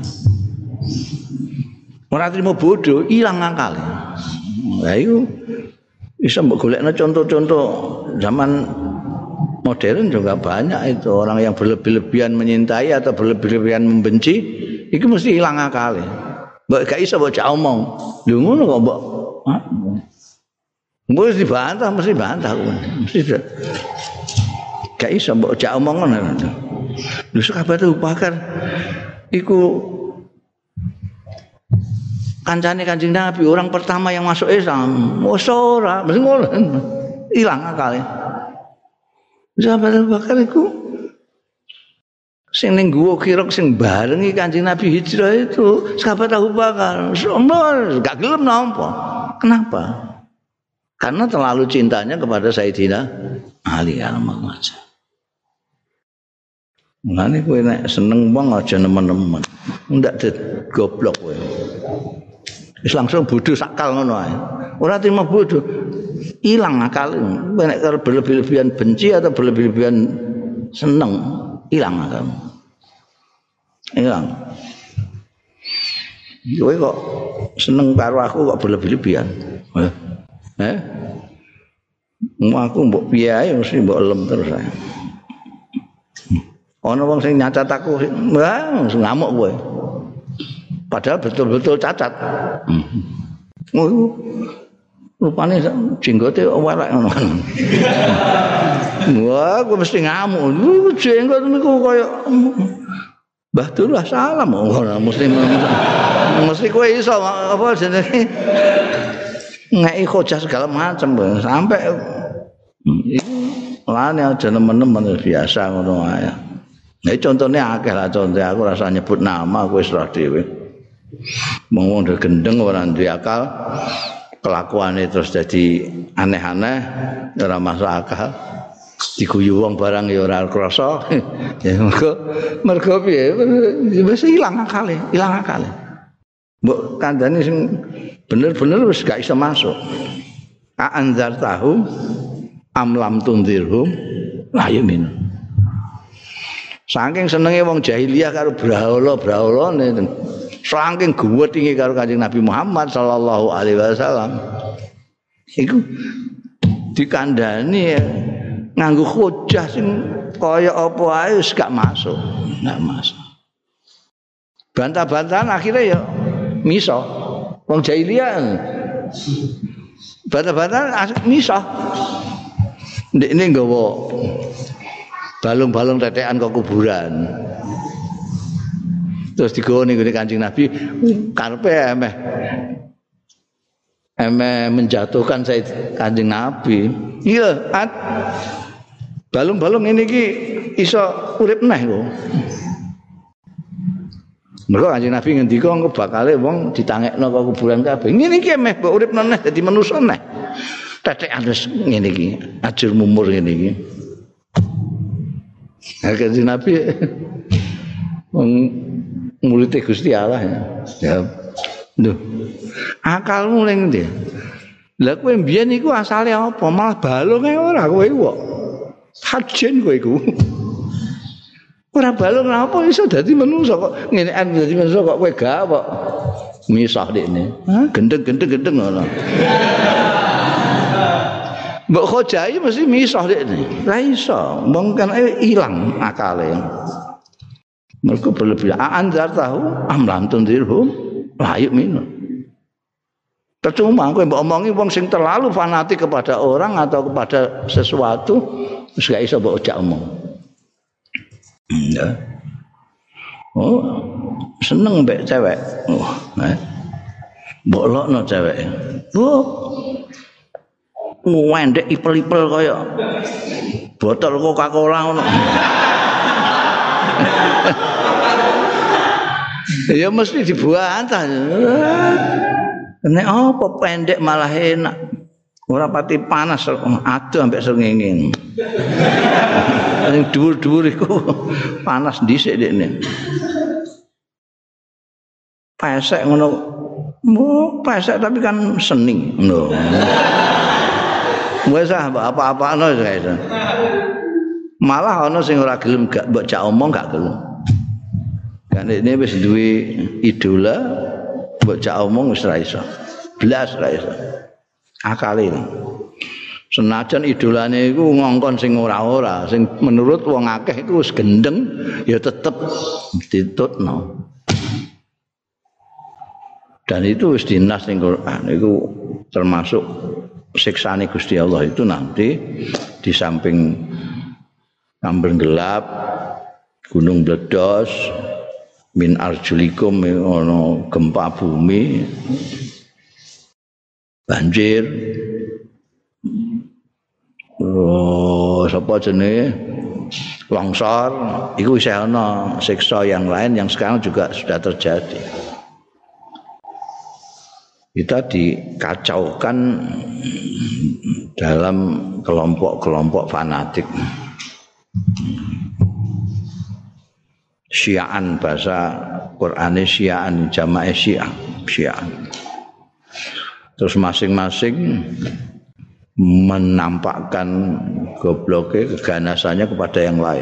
Ora trimo bodoh, hilang akale. Lah iku iso mbok golekno contoh-contoh zaman modern juga banyak itu orang yang berlebih-lebihan menyintai atau berlebih-lebihan membenci, itu mesti hilang akale. Mbok gak iso mbok jak omong. Lho ngono kok mbok mesti dibantah, mesti bantah, mesti gak iso mbok jak omong ngono. Lho sahabat Abu Bakar iku kancane Kanjeng Nabi, orang pertama yang masuk Islam. Oh ora, mesti ngono. Ilang akale. Sahabat Abu Bakar iku sing ning guwa Kirok sing barengi Kanjeng Nabi hijrah itu sahabat Abu Bakar. Sombong, gak gelem nampa. Kenapa? Karena terlalu cintanya kepada Sayyidina Ali almarhum. Mulane kowe nek seneng wong aja nemen-nemen. Ndak goblok kowe. Wis langsung bodoh sakal ngono ae. Ora terima bodoh. Ilang akal. Kowe nek berlebih-lebihan benci atau berlebih-lebihan seneng, ilang akal. Ilang. Kowe kok seneng karo aku kok berlebih-lebihan. Eh? Eh? Mau aku mbok piye ae mesti mbok lem terus ae. Ana wong sing nyacat aku, wah ngamuk kowe. Padahal betul-betul cacat. Oh, rupane jenggote welek ngono. Wah, kowe mesti ngamuk. Jenggot niku kaya Mbah Dullah salam ngono mesti mesti kowe iso apa jenenge ngeki hojah segala macam sampai iku lane aja nemen-nemen biasa ngono ae. Nah, contohnya akeh lah contoh aku rasa nyebut nama aku wis ora dhewe. Wong ndek gendeng ora duwe akal, kelakuane terus jadi aneh-aneh, ora masuk akal. Diguyu wong barang ya ora krasa. Ya mergo mergo piye? Wis ilang akale, ilang akale. Mbok kandhane sing bener-bener wis gak iso masuk. A anzar tahu am lam tundirhum la yumin. Saking senenge wong jahiliyah karo brahala-brahalane, saking guwetinge karo Kanjeng Nabi Muhammad sallallahu alaihi wasallam. Iku dikandhani nganggo hujah sing kaya apa ae wis gak masuk, gak masuk. Bantah-bantahan akhirnya ya miso. Wong jahiliyah bantah-bantahan miso. Ndekne nggawa balung-balung tetekan ke kuburan. Terus digone ngene Kanjeng Nabi karepe emeh emeh menjatuhkan Said Kanjeng Nabi. Iya, at balung-balung ini ki iso urip neh kok. Mergo Kanjeng Nabi ngendika engko bakale wong ditangekno ke kuburan kabeh. Ngene iki meh mbok uripno neh dadi manusa neh. Tetekan wis ngene iki, ajur mumur ngene iki. Ha Kanjeng Nabi wong murid Gusti Allah ya. Ya. Lho. Akalmu ning ndi? Lah kowe mbiyen iku asale apa? Malah balung ae ora kowe kok. Hajen kowe iku. Ora balung apa iso dadi manusa kok ngenekan dadi manusa kok kowe gak kok misah dekne. Hah gendeng-gendeng-gendeng ngono. Mbok khojai mesti misah dekne. Ora iso, wong kan ilang akale. Mergo berlebihan anzar tahu amlam tundirhum layuk minum. Percuma kowe mbok omongi wong sing terlalu fanatik kepada orang atau kepada sesuatu wis gak iso mbok ojak omong. Ya. Oh, seneng mbek cewek. Oh, eh. Mbok lokno cewek. Oh. Ngwendek ipel-ipel kaya botol Coca-Cola ngono. Ya mesti dibantah. Nek apa pendek malah enak. Ora pati panas aduh ambek srengenge. Sing dhuwur-dhuwur iku panas dhisik dekne. Pesek ngono. Mo pesek tapi kan seni ngono. Wes ah apa-apano guys. Malah ana sing ora gelem gak mbok jak omong gak gelem. Kan ini wis duwe idola mbok jak omong wis ra iso. Blas ra iso. Akale. Senajan idolane iku ngongkon sing ora-ora, sing menurut wong akeh iku wis gendeng, ya tetep ditutno. Dan itu wis dinas ning Quran iku termasuk siksane Gusti Allah itu nanti di samping kambing gelap, gunung meledos, min arjulikum ono gempa bumi, banjir. Oh, sapa jenenge? Longsor, iku isih ana siksa yang lain yang sekarang juga sudah terjadi. Kita dikacaukan dalam kelompok-kelompok fanatik. Syiaan bahasa Qur'ane Syiaan, jamaah Syiah, Syiaan. Terus masing-masing menampakkan gobloknya, keganasannya kepada yang lain.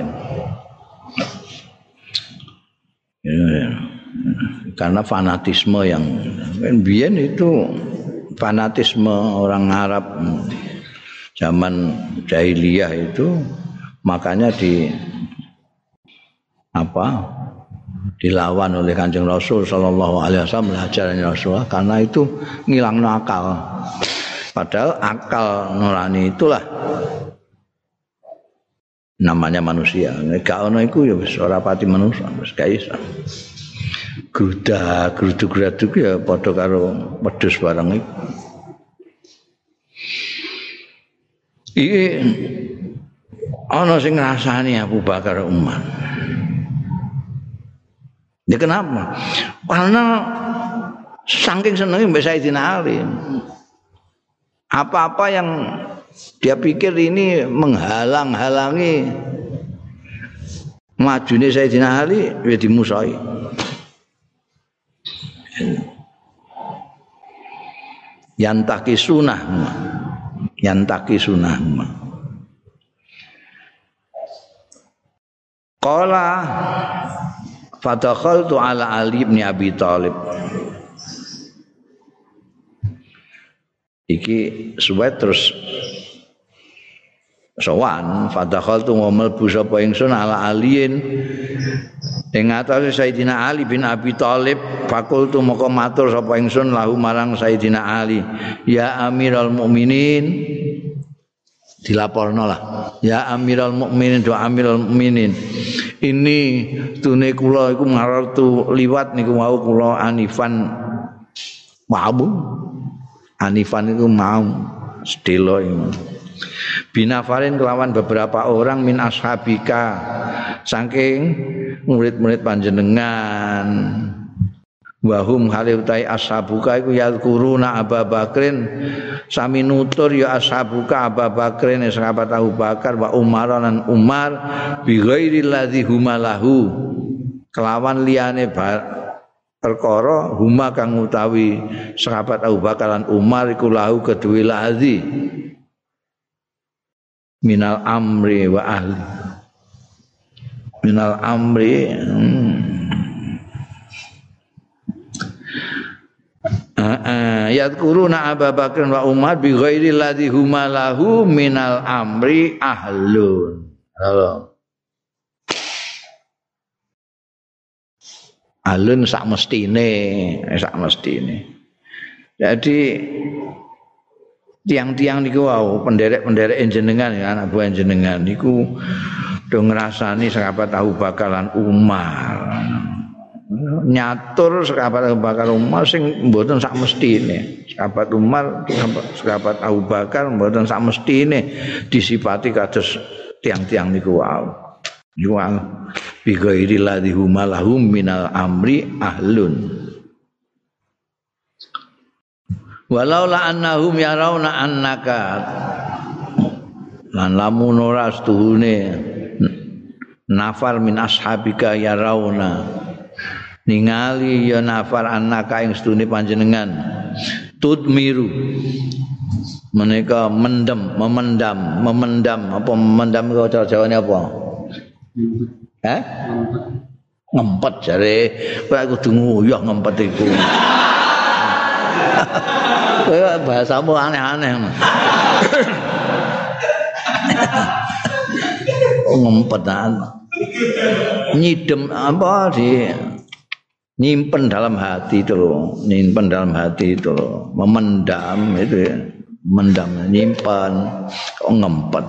Ya, karena fanatisme yang biyen itu fanatisme orang Arab zaman jahiliyah itu makanya di apa dilawan oleh Kanjeng Rasul sallallahu alaihi wasallam ajaran Rasulullah karena itu ngilangno akal. Padahal akal nurani itulah namanya manusia. Nek ono iku ya wis ora pati manusia, wis gak iso. Grudak, gruduk-gruduk ya padha karo wedhus barang iku. Iki ana sing ngrasani Abu Bakar Umar. Ya kenapa? Karena saking senenge mbek Sayyidina Ali. Apa-apa yang dia pikir ini menghalang-halangi majune Sayyidina Ali ya dimusuhi. Yantaki sunah, yantaki sunah. Qala fadakhaltu ala Ali bin Abi Thalib. Iki suwet terus sowan fadakhaltu mlebu sapa ingsun ala aliin ing atase Sayyidina Ali bin Abi Thalib fakultu moko matur sapa ingsun lahu marang Sayyidina Ali ya Amirul Mukminin dilaporno lah ya Amirul Mukminin do Amirul Mukminin ini tune kula iku ngartu liwat niku wau kula anifan wabu anifan itu mau sedelo ini binafarin kelawan beberapa orang min ashabika saking murid-murid panjenengan wahum haliutai ashabuka iku yadkuruna Abu Bakrin sami nutur ya ashabuka Abu Bakrin sahabat Abu Bakar wa Umar lan Umar bi ghairi ladzi humalahu kelawan liyane perkara huma kang utawi sahabat Abu Bakar lan Umar iku lahu kedue ladzi minal amri wa ahli minal amri hmm. Uh, yadkuruna Abu Bakar wa Umar bi ghairi ladzi huma lahu minal amri ahlun. Halo. Ahlun sak mestine, sak mestine. Jadi tiang-tiang niku wau penderek-penderek jenengan ya anak buah jenengan niku do ngrasani sahabat Abu Bakar lan Umar. Nyatur sahabat Abu Bakar Umar sing mboten sak mestine. Sahabat Umar, sahabat Abu Bakar mboten sak mestine disipati kados tiang-tiang niku wau. Jual bi ghairi ladzi huma lahum minal amri ahlun. Walaula annahum yarawna annaka lan lamun ora stuhune nafar min ashabika yarawna ningali ya nafar annaka ing sedune panjenengan tudmiru menika mendem memendam memendam apa memendam kok cara Jawane apa Hah ngempet jare kowe kudu nguyuh ngempet iku kowe bahasamu aneh-aneh ngempet nyidem apa di nyimpen dalam hati itu loh, nyimpen dalam hati itu loh, memendam itu ya, mendam, nyimpan, kok ngempet,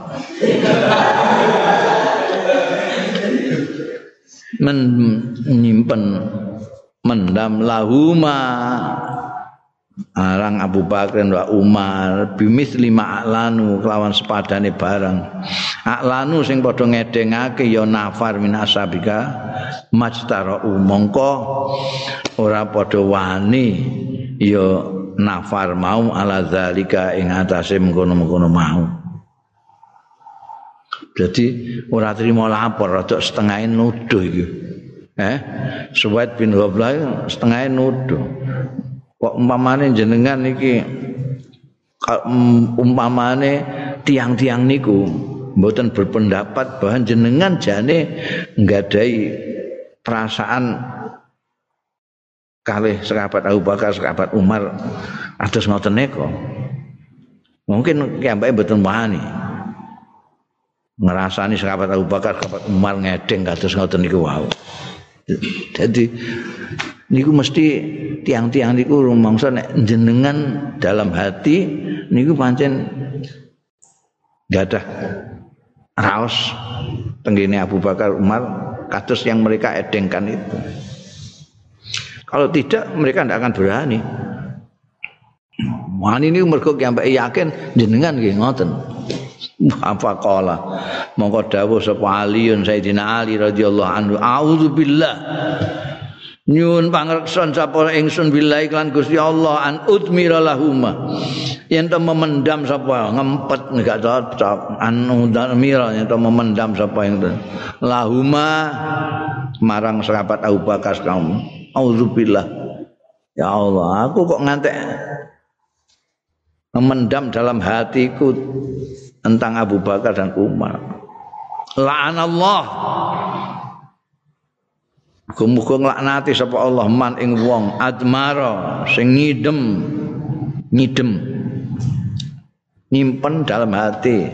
Men, nyimpen, mendam lahuma, arang Abu Bakar wa Umar, bimis lima aklanu kelawan sepadane barang, aklanu sing padha ngedengake ya nafar min ashabika majtara mongko ora padha wani ya nafar mau ala zalika ing atase mengkono-mengkono mau. Jadi ora trimo lapor rada setengah nuduh iki. Eh, Suwaid bin Ghablah setengah nuduh. Kok umpamane jenengan iki umpamane tiang-tiang niku mboten berpendapat bahwa jenengan jane nggadai perasaan kalih sahabat Abu Bakar, sahabat Umar atus ngoten nika. Mungkin kiambake mboten wani. Ngrasani sahabat Abu Bakar, sahabat Umar ngedeng kados ngoten niku wau. Jadi niku mesti tiang-tiang niku rumangsa nek jenengan dalam hati niku pancen gadah raos tenggene Abu Bakar Umar kados yang mereka edengkan itu. Kalau tidak mereka tidak akan berani. Wani niku mergo kiambake yakin jenengan nggih ngoten. Apa qala mongko dawuh sapa Aliun Sayyidina Ali radhiyallahu anhu a'udzubillah nyuwun pangreksan sapa ingsun billahi lan Gusti Allah an udmira lahuma yen to memendam sapa ngempet gak cocok an udmira yen to memendam sapa ing lahuma marang sahabat Abu Bakar kaum auzubillah ya Allah aku kok ngantek memendam dalam hatiku tentang Abu Bakar dan Umar. La'anallah. Muga-muga nglaknati sapa Allah man ing wong admara sing ngidem ngidem nyimpen dalam hati.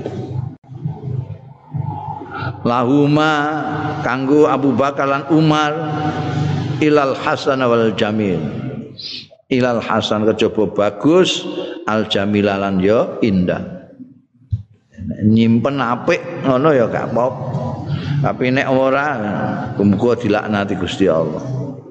Lahuma kanggo Abu Bakar lan Umar ilal hasan wal jamil. Ilal hasan kejaba bagus al jamilalan ya indah. Nyimpen apik ngono ya gak apa-apa. Tapi nek ora muga dilaknati Gusti Allah.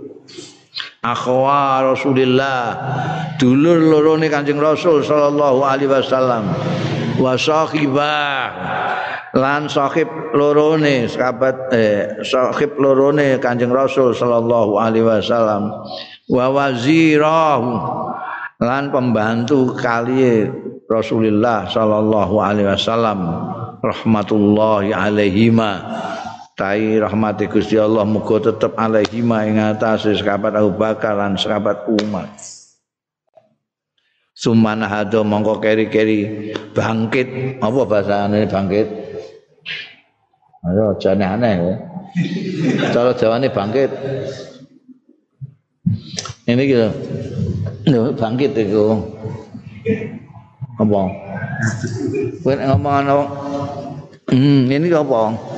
Akhwa Rasulillah, dulur lorone Kanjeng Rasul sallallahu alaihi wasallam. wa sahibah lan sahib lorone sahabat eh sahib lorone Kanjeng Rasul sallallahu alaihi wasallam wa wazirahu lan pembantu kali Rasulullah sallallahu alaihi wasallam rahmatullahi alaihima tai rahmati Gusti Allah muga tetep alaihima ing atase sahabat Abu Bakar lan sahabat Umar. Sumana hado mongko keri-keri bangkit. Apa bahasane bangkit? Ayo jane aneh ya. Cara Jawane bangkit. Ini gitu. Lho bangkit iku. Apa? Kowe ngomong ana hmm ini apa?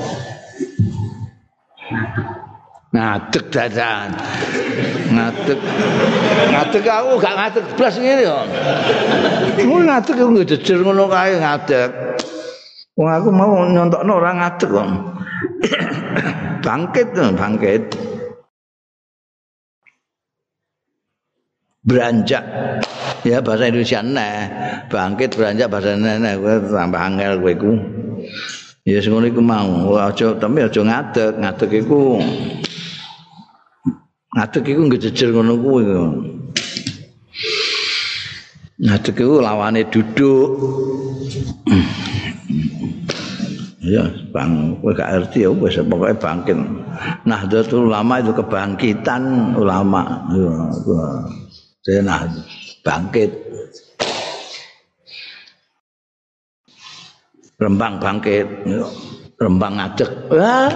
Ngadeg dadan. Ngadeg. Ngadeg aku gak ngadeg blas ngene yo. Ku ngadeg aku ngejejer ngono kae ngadeg. Wong aku mau nyontokno ora ngadeg kok. Bangkit, bangkit. Beranjak. Ya bahasa Indonesia neh. Bangkit beranjak bahasa neh kowe tambah angel kowe iku. Ya sing ngono iku mau. Aja tapi aja ngadeg, ngadeg iku ngadeg iku ngejejer ngono kuwi. Ngadeg iku lawane duduk. Ya, bang, kowe gak ngerti ya wis pokoke bangkit. Nahdlatul Ulama itu kebangkitan ulama. Ya, nah, bangkit. Rembang bangkit, Rembang ngadeg. Wah.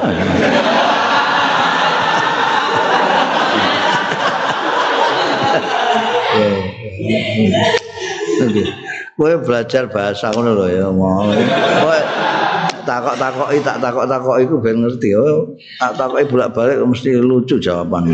Kowe belajar bahasa ngono lho ya mau. Kowe takok-takoki tak takok-takoki iku ben ngerti. Oh, tak takoki bolak-balik mesti lucu jawaban.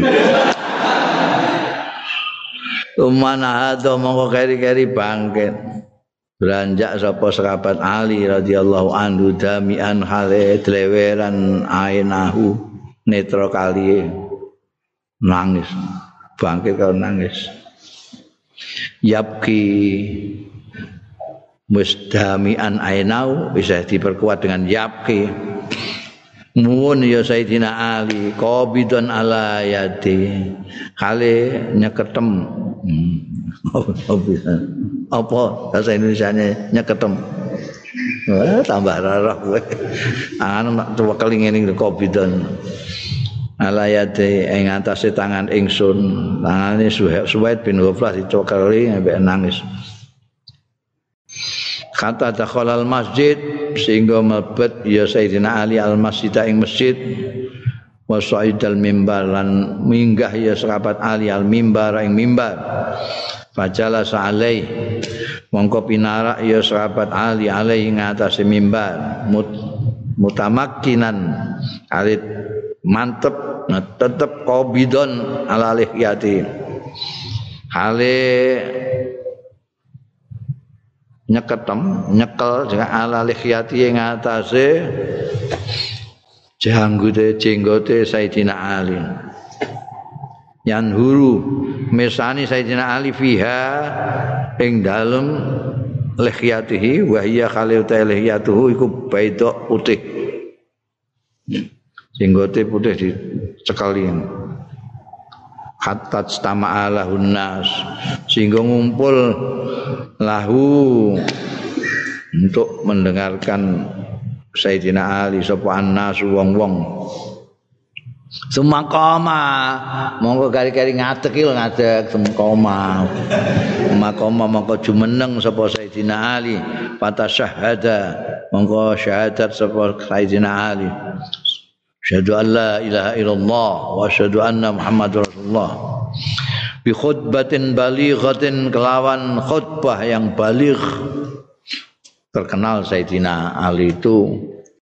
Umana hado mongko keri-keri bangkit. Beranjak sapa sahabat Ali radhiyallahu anhu damian hale dleweran ainahu netra kali nangis bangkit karo nangis yapki musdamian ainau bisa diperkuat dengan yapki muwun ya Sayyidina Ali qabidun ala yadi kale nyeketem hmm. Oh, bisa. Apa bahasa Indonesianya nyeketem. Wah, tambah rarah kowe. Angan nak cekel ngene Qabidon. Alayate ing atase tangan ingsun, tangane Suhaid bin Ghaflah dicokeli ambek nangis. Kata dakhalal masjid sehingga mlebet ya Sayyidina Ali al-masjid ing masjid wa sa'idal mimbar lan minggah ya sahabat Ali al-mimbar ing mimbar. Fajala sa'alai mongko pinarak ya sahabat Ali alaihi ngatasi mimbar Mut, mutamakkinan alit mantep nah, tetep qabidon ala lihyati hale nyeketem nyekel dengan ala lihyati ngatasi janggote jenggote Sayyidina Ali yanhuru mesani Sayyidina Ali fiha ing dalem lihyatihi wa hiya khalil lihyatuhu iku baidok putih jenggote putih dicekali hatta stama'ala hunnas sehingga ngumpul lahu untuk mendengarkan Sayyidina Ali sapa annas wong-wong. Sumakoma monggo kari-kari ngadeg iki ngadeg sumakoma makoma monggo jumeneng sapa Sayyidina Ali fatasyahada monggo syahadat sapa Sayyidina Ali syahadu an la ilaha illallah wa syahadu anna Muhammadur Rasulullah bi khutbatin balighatin kelawan khutbah yang baligh. Terkenal Sayyidina Ali itu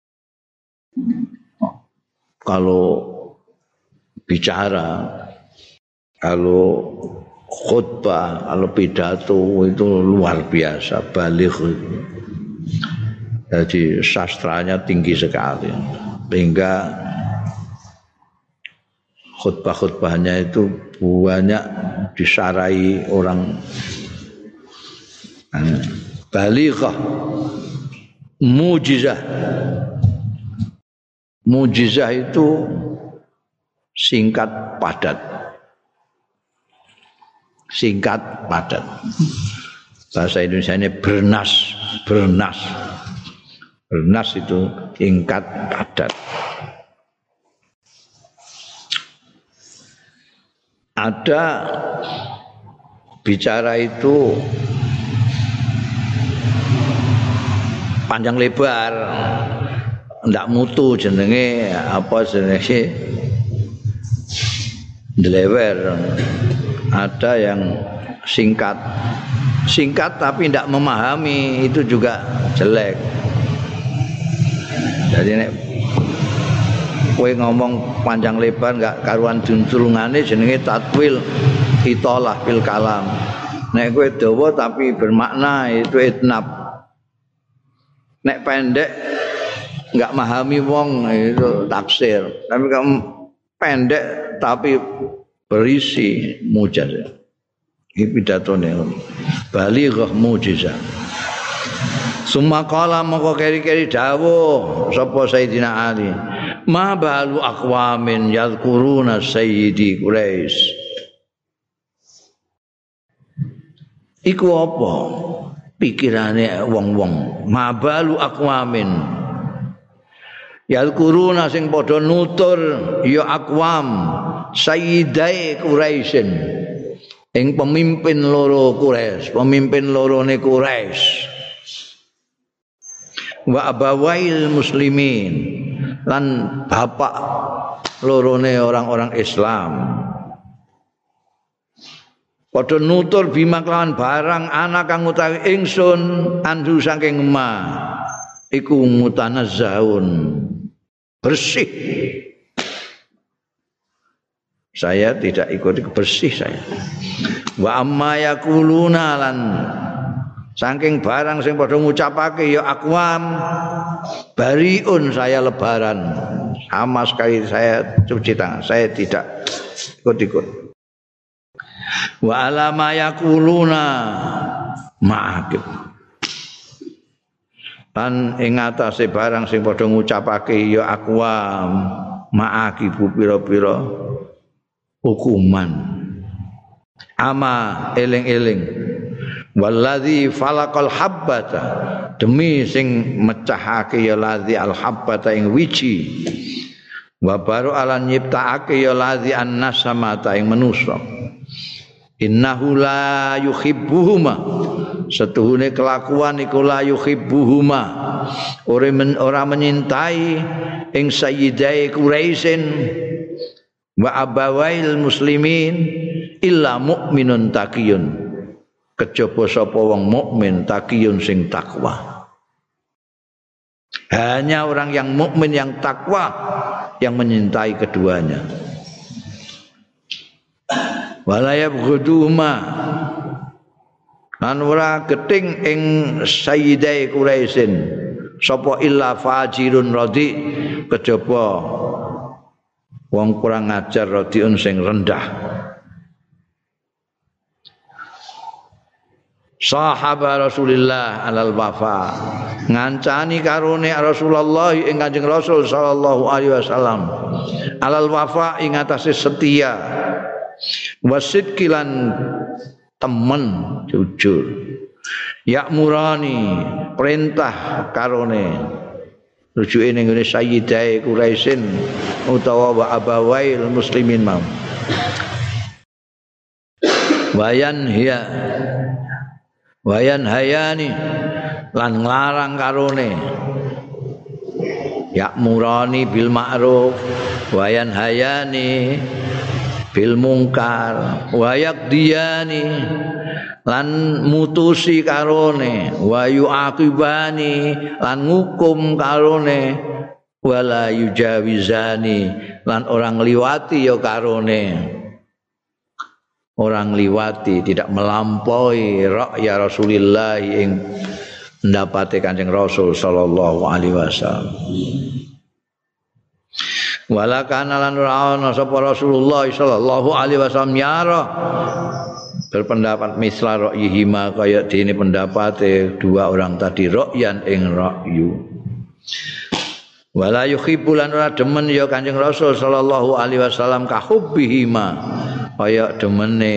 kalau bicara, kalau khutbah, kalau pidato itu luar biasa, baligh. Jadi sastranya tinggi sekali, sehingga khutbah-khutbahnya itu banyak disarai orang balighah. mujizah. Mujizah itu singkat padat. Singkat padat. Bahasa Indonesia ini bernas, bernas. Bernas itu singkat padat. Ada bicara itu panjang lebar, ndak mutu jenenge apa jenenge delewer. Ada yang singkat, singkat tapi ndak memahami, itu juga jelek. Jadi nek kowe ngomong panjang lebar nggak karuan juntrungane jenenge tatwil italah fil kalam. Nek kowe dawa tapi bermakna itu itnab. Nek pendek nggak memahami wong itu taksir. Tapi kamu pendek tapi berisi mujizat. Iki pidatone balighah mujizat. Summa qala moko keri-keri dawuh sapa Sayyidina Ali. Ma balu aqwamin yadhkuruna sayyidi Quraisy. Iku apa pikirane wong-wong? Ma balu aqwamin yadhkuruna sing padha nutur ya aqwam sayyidai Quraisyin. Ing pemimpin loro Quraisy, pemimpin lorone Quraisy. Wa abawail muslimin, lan bapak lorone orang-orang Islam. Padha nutur bima kelawan barang anak kang utawi ingsun andu saking ma iku mutanazzaun, bersih. Saya tidak ikut bersih saya. Wa amma yaquluna lan saking barang sing padha ngucapake ya aqwam bariun, saya lebaran. Sama sekali saya cuci tangan, saya tidak ikut-ikut. Wa ala ma yaquluna ma'akib. Lan ing atase barang sing padha ngucapake ya aqwam ma'akibu pira-pira hukuman. Ama eling-eling waladzi falaqal habbata, demi sing mecahake ya ladzi al habbata ing wiji, wa baru alan nyiptakake ya ladzi annasamata ing manusa. Innahu la yuhibbuhuma, setuhune kelakuan iku la yuhibbuhuma, ora men, ora menyintai ing sayyidai Quraisyin wa abawail muslimin illa mukminun taqiyun, kejaba sapa wong mukmin taqiyun sing takwa. Hanya orang yang mukmin yang takwa yang menyintai keduanya. Wala yabghuduma, lan ora geting ing sayyidai Quraisyin sapa illa fajirun radi, kejaba wong kurang ajar radiun sing rendah. Sahaba Rasulillah alal wafa, ngancani karone Rasulullah ing Kanjeng Rasul sallallahu alaihi wasallam alal wafa ing atase setia, wasidkilan temen jujur, yakmurani perintah karone rujuke ning ngene sayyidai Quraisyin utawa wa abawail muslimin mau wayan hiya wayan hayani lan nglarang karone yakmurani bil ma'ruf wayan hayani bil mungkar wayak diyani lan mutusi karone wayu akibani lan ngukum karone wala yujawizani lan orang liwati ya karone. Orang liwati, tidak melampaui ra'ya Rasulillah yang mendapati Kanjeng Rasul sallallahu alaihi wasallam. Wala kana lan ora ana sapa Rasulullah sallallahu alaihi wasallam yara berpendapat misla ra'yihima kaya dene pendapate dua orang tadi ra'yan ing ra'yu. Wala yuhibbu lan ora demen ya Kanjeng Rasul sallallahu alaihi wasallam kahubbihima kaya demene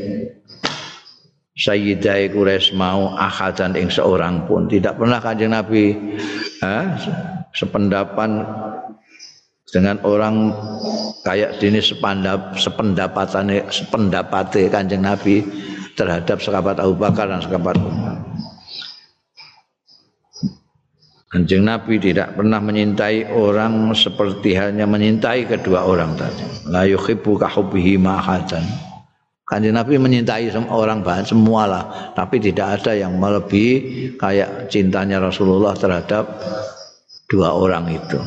Sayyidah Quraisy mau ahadan ing seorang pun. Tidak pernah Kanjeng Nabi eh, sependapan dengan orang kayak dini sepandap sependapatane sependapate Kanjeng Nabi terhadap sahabat Abu Bakar dan sahabat Umar. Kanjeng Nabi tidak pernah menyintai orang seperti halnya menyintai kedua orang tadi. La yuhibbu ka hubbihi ma ahadan. Kanjeng Nabi menyintai orang banyak semualah, tapi tidak ada yang melebihi kayak cintanya Rasulullah terhadap dua orang itu.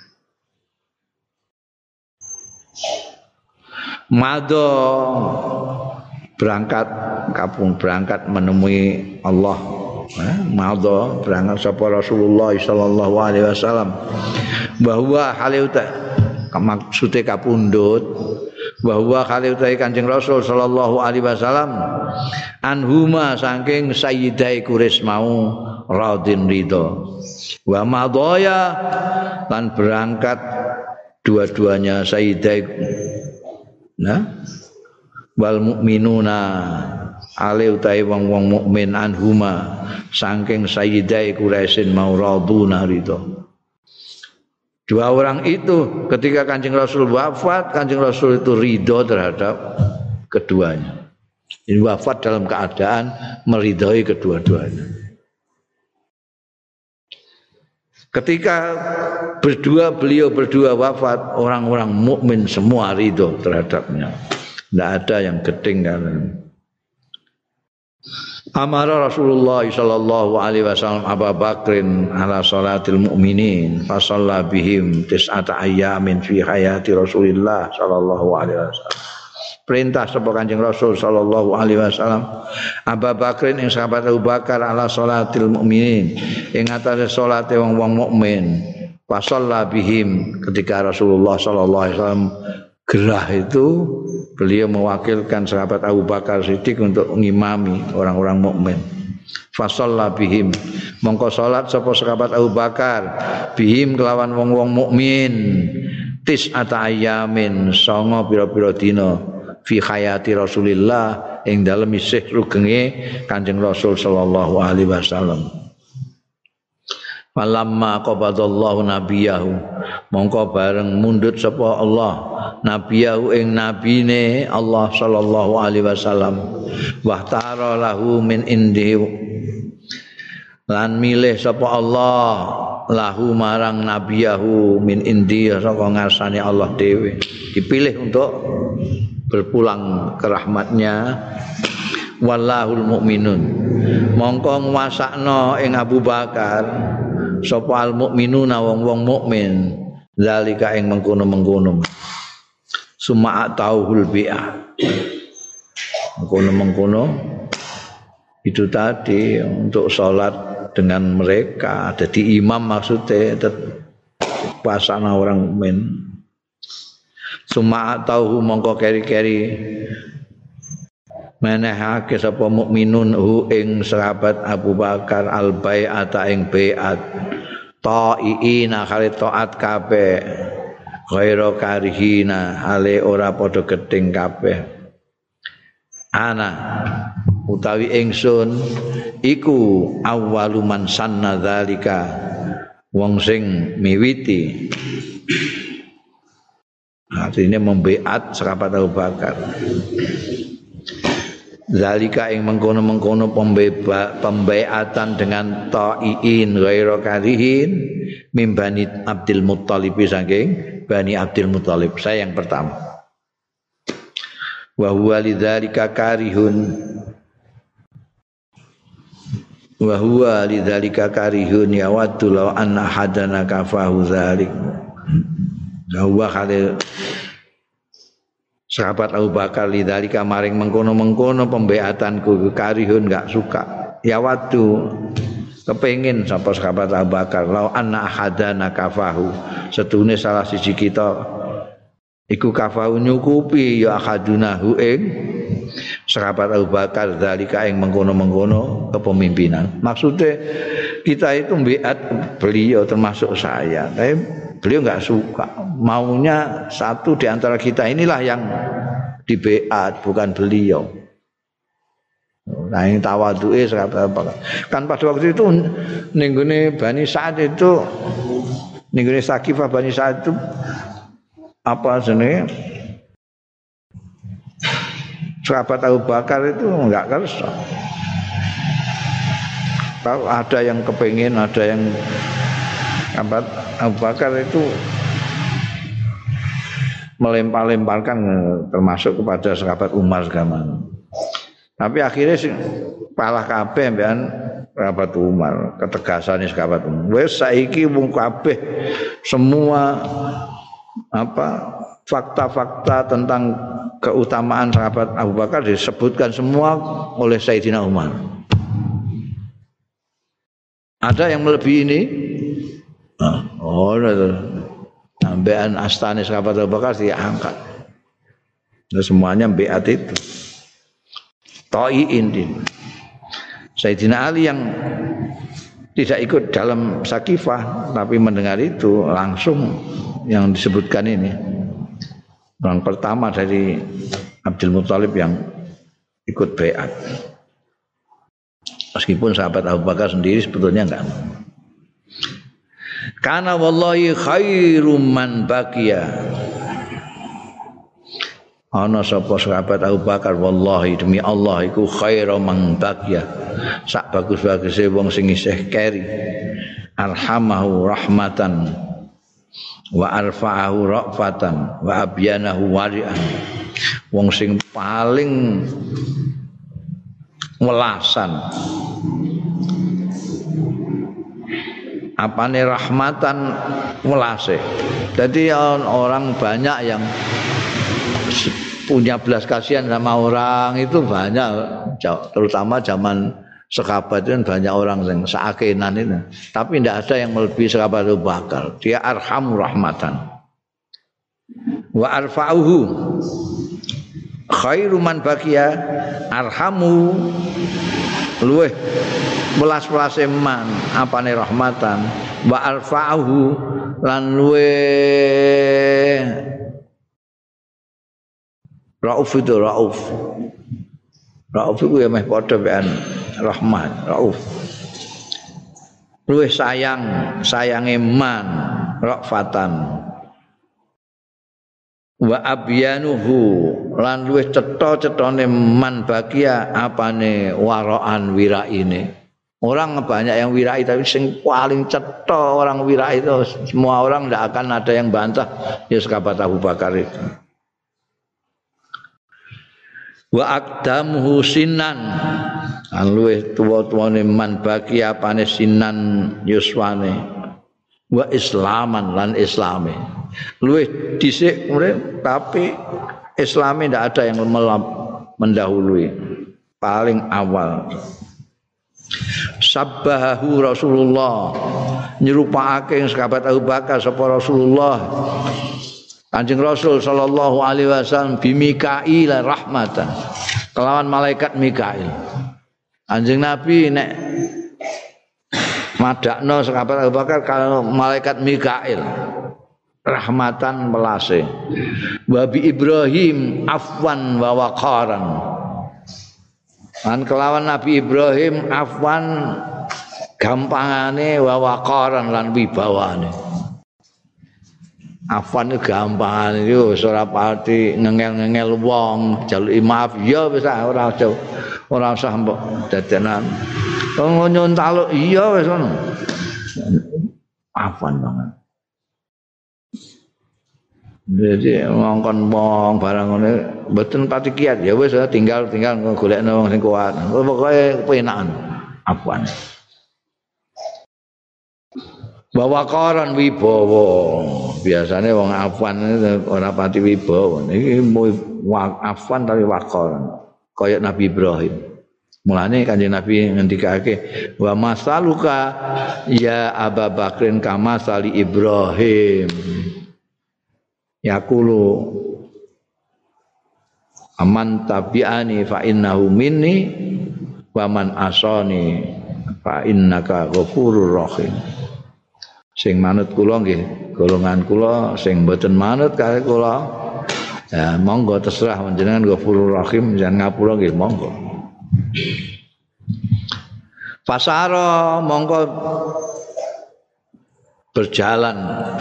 Mado berangkat kapung berangkat menemui Allah. Eh, Mado berangkat sapa Rasulullah sallallahu alaihi wasallam bahwa hale uta maksude kapundhut bahwa kali utahe Kanjeng Rasul sallallahu alaihi wasallam anhuma saking Sayyidah Quraisy mau radin ridho wa madaya lan berangkat dua-duanya Sayyidah nah wal mukminuna ale utahe wong-wong mukmin anhuma saking Sayyidah Quraisy mau raduna ridho. Dua orang itu ketika Kanjeng Rasul wafat, Kanjeng Rasul itu ridho terhadap keduanya. Ini wafat dalam keadaan meridhoi kedua-duanya. Ketika berdua beliau berdua wafat, orang-orang mukmin semua ridho terhadapnya. Tidak ada yang gedeng kan. Amara Rasulullah sallallahu alaihi wasallam Abu Bakrin ala salatil mu'minin fa shalla bihim tis'ata ayyamin fi hayati Rasulillah sallallahu alaihi wasallam. Perintah sapa Kanjeng Rasul sallallahu alaihi wasallam Abu Bakrin ing sahabat Abu Bakar ala salatil mu'minin ing atase salate wong-wong mukmin fa shalla bihim ketika Rasulullah sallallahu alaihi wasallam gerah itu beliau mewakilkan sahabat Abu Bakar Siddiq untuk ngimami orang-orang mukmin. Fasalla bihim mongko salat sapa sahabat Abu Bakar bihim kelawan wong-wong mukmin tis'ata ayyamin sanga pira-pira dina fi hayati Rasulillah ing dalem isih rugenge Kanjeng Rasul sallallahu alaihi wasallam. Falamma qabadallahu nabiyahu mongko bareng mundut sapa Allah nabiyahu ing nabine Allah sallallahu alaihi wasallam wa tara lahu min indi lan milih sapa Allah lahu marang nabiyahu min indi saka ngarsane Allah dhewe dipilih untuk berpulang ke rahmatnya wallahul mukminun mongko nguwasakno ing Abu Bakar sapa al mukminuna wong-wong mukmin zalika ing mengkono-mengkono summa atauhul bi'ah mengkono-mengkono itu tadi untuk sholat dengan mereka jadi imam maksudnya pasana orang mukmin summa atauhu mongko keri-keri menehake sapa mukminun hu ing sahabat Abu Bakar al bai'ata ing bai'at ta'iina kali taat kabeh ghaira karihina hale ora padha gething kabeh ana utawi ingsun iku awwalu man sanna dzalika wong sing miwiti artinya membeat sahabat Abu Bakar zalika ing mengkono-mengkono pembeatan dengan ta'iin ghaira karihin mim Bani Abdul Muthalib saking Bani Abdul Muthalib saya yang pertama wa huwa lidzalika karihun wa huwa lidzalika karihun ya waddu law anna hadana kafahu dzalik wa khalil sahabat Abu Bakar lidzalika maring mengkono-mengkono pembeatanku karihun enggak suka ya waktu kepengin sapa sahabat Abu Bakar lau anna ahadana kafahu setune salah siji kita iku kafahu nyukupi ya ahadunahu ing sahabat Abu Bakar zalika yang mengkono-mengkono kepemimpinan. Maksudnya kita itu biat beliau termasuk saya, tapi beliau enggak suka. Maunya satu di antara kita inilah yang dibeat, bukan beliau. Nah, yang tawadu'e sahabat Abu Bakar. Kan pada waktu itu ninggune Bani Sa'ad itu ninggune Sakifah Bani Sa'ad itu apa jenenge? Sahabat Abu Bakar itu enggak kersa. Kalau ada yang kepengin, ada yang sahabat Abu Bakar itu melempar-lemparkan termasuk kepada sahabat Umar zaman. Tapi akhirnya sih palah kabeh mbekan sahabat Umar, ketegasannya sahabat Umar. Wes saiki wong kabeh semua apa fakta-fakta tentang keutamaan sahabat Abu Bakar disebutkan semua oleh Sayyidina Umar. Ada yang melebihi ini? Oh, ambean astane sahabat Abu Bakar diangkat. Nah, semuanya beat itu. Toiin din. Sayyidina Ali yang tidak ikut dalam Sakifah tapi mendengar itu langsung yang disebutkan ini. Orang pertama dari Abdul Muthalib yang ikut baiat. Meskipun sahabat Abu Bakar sendiri sebetulnya enggak. Kana wallahi khairum man baqiya. Ana sapa sahabat Abu Bakar wallahi demi Allah iku khairum man baqiya. Sak bagus-baguse wong sing isih keri. Arhamahu rahmatan wa arfa'ahu ra'fatan wa abyanahu wari'an. Wong sing paling welasan apane rahmatan welase. Jadi orang banyak yang punya belas kasihan sama orang itu banyak, terutama zaman sahabat itu banyak orang yang seakenan itu. Tapi tidak ada yang melebihi sahabat Abu Bakar. Dia arhamu rahmatan. Wa arfa'uhu khairu man baqiya arhamu luweh welas-welase man apane rahmatan wa arfa'uhu lan luweh rauf itu rauf. Rauf itu ya meh padha bean rahmat, rauf. Luwih sayang, sayange man, rafatan. Wa abyanuhu lan luwih cetha-cethane man bagia apane waraan wiraine. Orang banyak yang wirai tapi sing paling cetha orang wirai itu semua orang tidak akan ada yang bantah ya sahabat Abu Bakar itu. Wa aqdamuhu sinan an luweh tuwa-tuwane man baki apane sinan yuswane wa islaman lan islame luweh dhisik tapi islame ndak ada yang mendahului paling awal. Sabbahu Rasulullah nyerupake sahabat Abu Bakar sapa Rasulullah Kanjeng Rasul sallallahu alaihi wasallam bi Mikail rahmatan. Kelawan malaikat Mikail. Kanjeng Nabi nek madakno sahabat Abu Bakar kalau malaikat Mikail rahmatan melase. Wa bi Ibrahim afwan wa waqaran. Lan kelawan Nabi Ibrahim afwan gampangane wa waqaran lan wibawane. Afwan itu gampang itu ora pati ngengel-ngengel wong jaluki maaf ya wis ora ora usah mbok dadenan nyun taluk iya wis ngono afwan banget. Jadi ngongkon wong barang ngene mboten pati kiat ya wis tinggal tinggal golekno wong sing kuat pokoke kepenakan afwan. Bawa koran wibawa biasanya wong afwan ora pati wibawa iki afwan tapi wakoran kaya Nabi Ibrahim. Mulane Kanjeng Nabi ngendikake wa masaluka ya Abu Bakrin kama sali Ibrahim yaqulu aman tabi'ani fa innahu minni wa man asani fa innaka ghafurur rahim. Sing manut kula nggih golongan kula, sing mboten manut kare kula ya monggo terserah panjenengan ghafurur rahim, jangan ngapura nggih monggo. Fasara mongko berjalan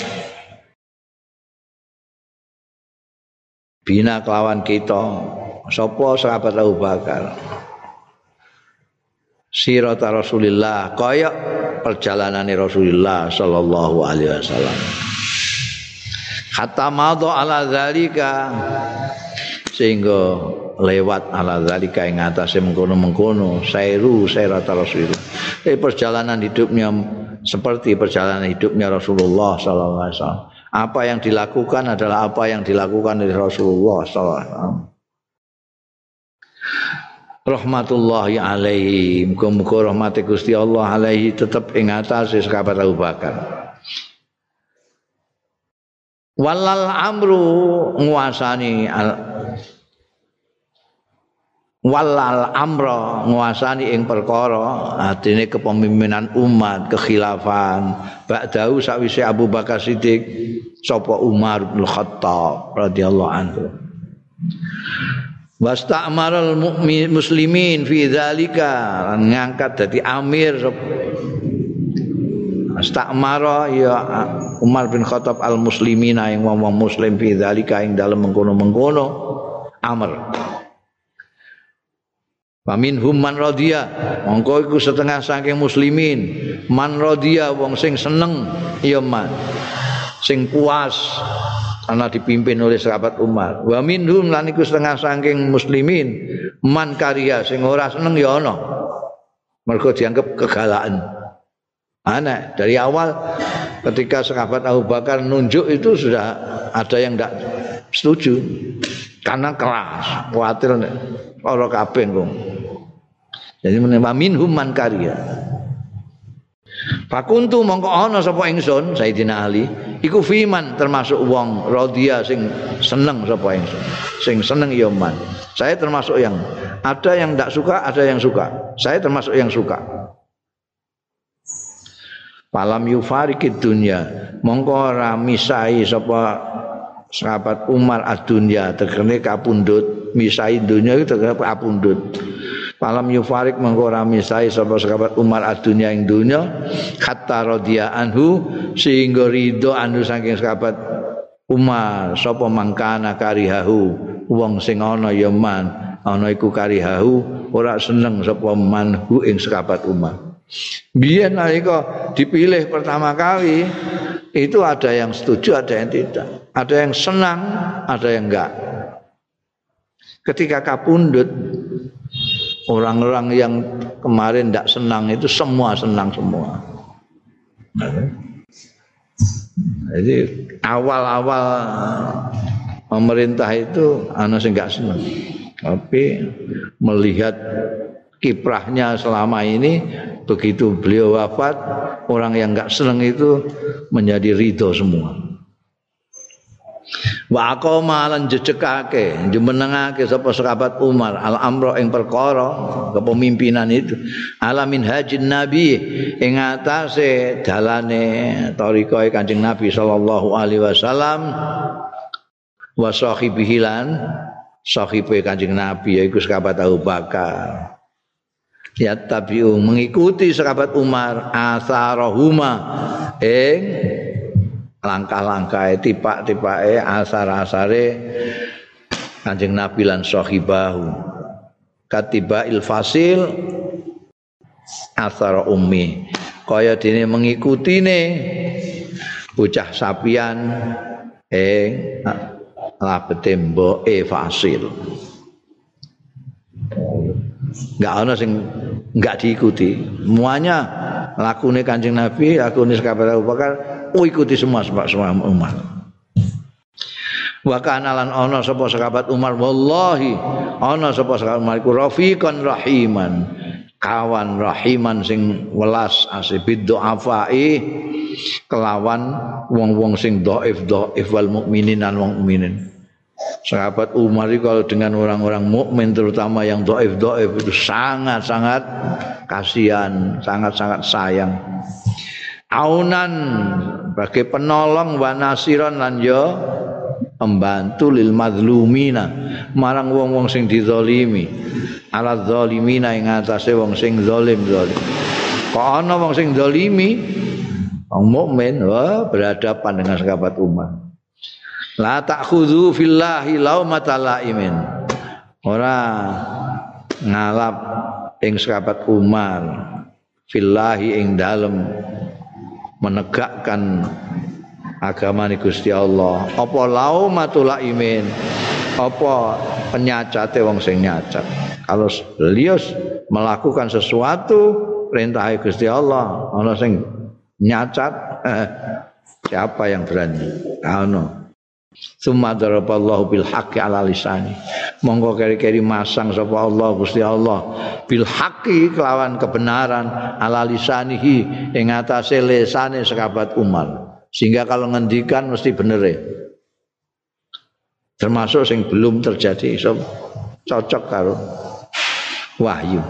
bina kelawan kita sapa sahabat Abu Bakar sirata Rasulillah kaya perjalanane Rasulullah sallallahu alaihi wasallam hatta madha ala zalika sehingga lewat ala zalika ing atase mengkono-mengkono sairu sairata Rasulillah. Eh, perjalanan hidupnya seperti perjalanan hidupnya Rasulullah sallallahu alaihi wasallam. Apa yang dilakukan adalah apa yang dilakukan oleh Rasulullah sallallahu alaihi wasallam. Rahmatullahi alaihi, muga-muga rahmate Gusti Allah alaihi tetep ing atase sahabat Abu Bakar. Walal amru nguasani al walal amra nguasani ing perkara artine kepemimpinan umat kekhilafan ba'dahu sakwise Abu Bakar Siddiq sapa Umar bin Khattab radhiyallahu anhu wasta'maral mu'min muslimin fi dzalika ngangkat dadi amir Astamara ya Umar bin Khattab al muslimina yang wong muslim fi dzalika ing dalem mengkono-mengkono amr. Wa minhum man radhiya mongko iku setengah saking muslimin man radhiya wong sing seneng ya man sing puas karena dipimpin oleh sahabat Umar. Wa minhum lan iku setengah saking muslimin man karya sing ora seneng ya ana. Mergo dianggap kegalakan. Aneh dari awal ketika sahabat Abu Bakar nunjuk itu sudah ada yang tidak setuju karena keras khawatir ora kabeh kok. Jadi menapa minhum man karya. Fakuntu mongko ana sapa ingsun Sayyidina Ali iku fiman termasuk wong radhiya sing seneng sapa ingsun. Sing seneng ya man. Saya termasuk yang ada yang tidak suka, ada yang suka. Saya termasuk yang suka. Palam yufarikid dunya mongko ora misai sapa sahabat Umar ad-dunya tegene kapundhut misai dunya itu tegene kapundhut. Palam yufarik mongko ora misai sapa sahabat Umar ad-dunya ing dunya hatta radhiya anhu sehingga ridho anhu saking sahabat Umar sapa mangkana karihahu wong sing ana ya man ana iku karihahu ora seneng sapa manhu ing sahabat Umar. Biyen nalika dipilih pertama kali itu ada yang setuju, ada yang tidak, ada yang senang, ada yang enggak. Ketika kapundhut orang-orang yang kemarin tidak senang itu semua senang semua. Jadi awal-awal pemerintah itu ana sing enggak senang. Tapi melihat kiprahnya selama ini begitu beliau wafat orang yang enggak senang itu menjadi ridho semua. Wa aqama lan jejekake jumenengake sapa sahabat Umar al amra ing perkara kepemimpinan itu alamin hajin nabi ing atase dalane tariqahe Kanjeng Nabi sallallahu alaihi wasallam wa sahibihi lan sahibe Kanjeng Nabi yaiku sahabat Abu Bakar. Ya tabiu mengikuti sahabat Umar asarahuma ing langkah-langkahe tipak-tipake asar-asare Kanjeng Nabi lan sahibahu katibail fasil asar ummi kaya dene mengikutine bocah sapian ing labete mboke fasil. Enggak ana sing enggak diikuti. Semuanya lakune Kanjeng Nabi, lakune sahabat Abu Bakar, oh ikuti semua semua umat. Wa kana lan ana sapa sahabat Umar wallahi ana sapa sahabat Umar iku rafiqan rahiman, kawan rahiman sing welas asibid do'afai kelawan wong-wong sing dhaif dhaif wal mukminin lan wong mukminin. Sahabat Umar itu kalau dengan orang-orang mukmin terutama yang dhaif-dhaif itu sangat-sangat kasihan, sangat-sangat sayang. Aunan sebagai penolong wa nasiran lan ya pembantu lil mazlumina marang wong-wong sing dizalimi. Ala zalimina ing atase wong sing zalim zalim. Kok ana wong sing zalimi wong mukmin wah berhadapan dengan sahabat Umar. La ta'khudhu fillahi laumata laimin. Ora ngalap ing sahabat Umar fillahi ing dalem menegakkan agama Gusti Allah. Apa laumatul laimin? Apa penyacate wong sing nyacat? Kalau beliau melakukan sesuatu perintah Gusti Allah, ana sing nyacat eh, siapa yang berani? Ana. Summa daraballahu bil haqqi ala lisani. Monggo keri-keri masang sapa Allah Gusti Allah bil haqqi kelawan kebenaran ala lisanihi ing atase lisane sahabat Umar. Sehingga kalau ngendikan mesti bener ya. Termasuk sing belum terjadi so, cocok karo wahyu.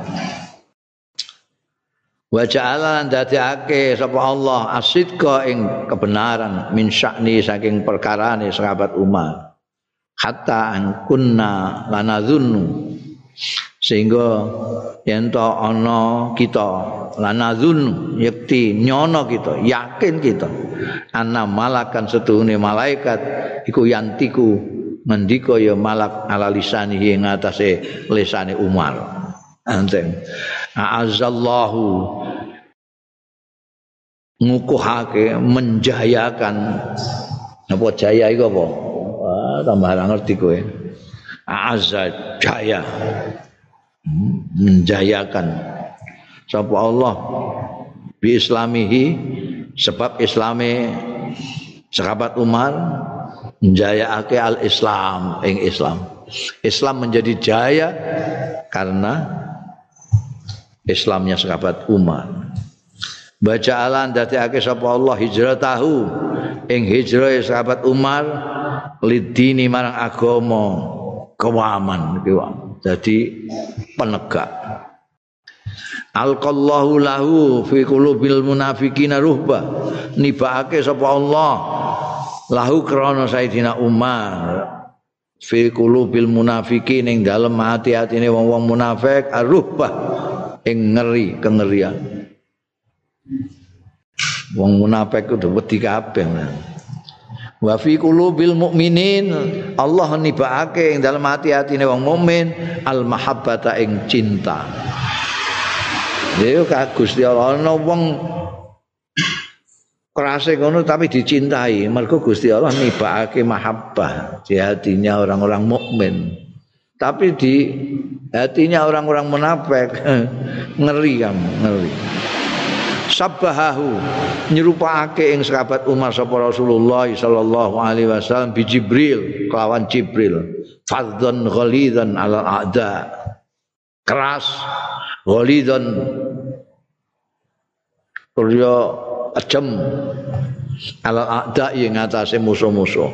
Wa ja'ala lan dadekake sapa Allah asidqa ing kebenaran min sya'ni saking perkarane sahabat Umar hatta an kunna lanadzunnu sehingga yen to ana kita lanadzunnu yakti nyono kita yakin kita ana malakan setuhune malaikat iku yantiku ngendika ya malak ala lisanihi ing atase lisane Umar. Anten a'azzallahu ngukuhake menjayakan apa jaya iku apa wah tambah ora ngerti kowe a'azza jaya menjayakan sapa Allah bi islamihi sebab islame sahabat Umar menjayake al-Islam ing Islam Islam menjadi jaya karena Islamnya sahabat Umar. Baca alan dadekake sapa Allah hijratahu ing hijrah sahabat Umar lidini marang agama kewaman iki jadi penegak. Alqallahu lahu fi qulubil munafiqina ruhba nibake sapa Allah lahu krana Sayyidina Umar fi qulubil munafiqin ing dalem ati-atine wong-wong munafik arruhbah ing ngeri kengerian. Wong munafik kudu wedi kabeh. Wa fi qulubil mukminin Allah nibake ing dalem ati-atine wong mukmin al mahabbata ing cinta. Lha ka Gusti Allah ana wong kerase ngono tapi dicintai mergo Gusti Allah nibake mahabbah di hatinya orang-orang mukmin. Tapi di hatinya orang-orang munafik ngeri kamu ngeri. Sabbahahu nyerupake ing sahabat Umar sapa Rasulullah sallallahu alaihi wasallam bi Jibril kelawan Jibril fadzan ghalidan ala a'da keras ghalidan kurya ajem ala a'da ing atase musuh-musuh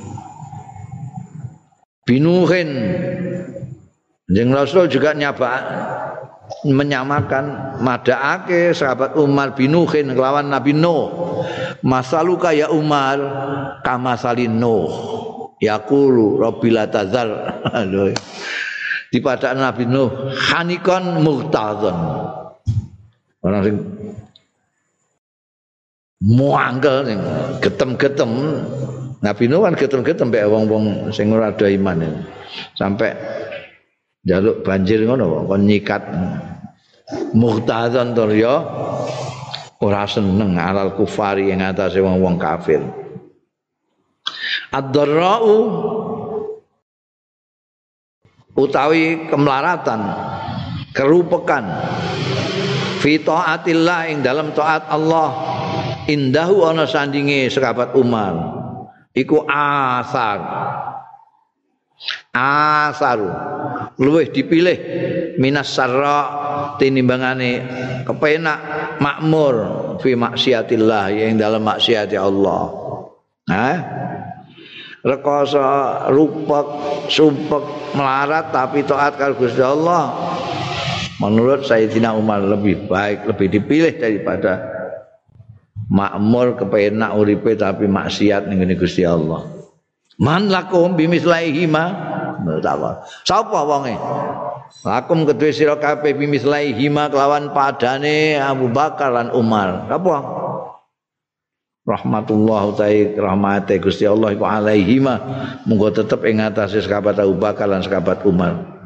binuhin. Jeung Rasul juga nyaba menyamakan madaake sahabat Umar binuhin kelawan Nabi Nuh. Masaluka ya Umar kama salin Nuh. Yaqulu rabbil tazar. Di pada Nabi Nuh hanikon muhtadzon. Orang sing muangkel sing getem-getem. Nabi Nuh kan getem-getem mbek wong-wong sing ora ada iman. Sampai jaluk banjir ngono kon nyikat muhtadzan to ya ora seneng alal kufari ing atase wong-wong kafir. Ad-dharra'u utawi kemelaratan kerupekan fi taatillah ing dalam taat Allah indahu ana sandinge sahabat Umar iku asar asaru luwih dipilih minas sarra tinimbangane kepenak makmur fi maksiatillah yang dalam maksiat Allah. Nah, rekoso rupek sumpek melarat tapi taat karo Gusti Allah. Menurut Sayyidina Umar lebih baik, lebih dipilih daripada makmur kepenak uripe tapi maksiat ning Gusti Allah. Man lakum bimislaihi ma mutawa. Sapa wonge? Lakum kedue sira kabeh bimislaihi ma kelawan padane Abu Bakar lan Umar. Apa? Rahmatullah ta'i rahmate Gusti Allah iku alaihima munggo tetep ing atase sahabat Abu Bakar lan sahabat Umar.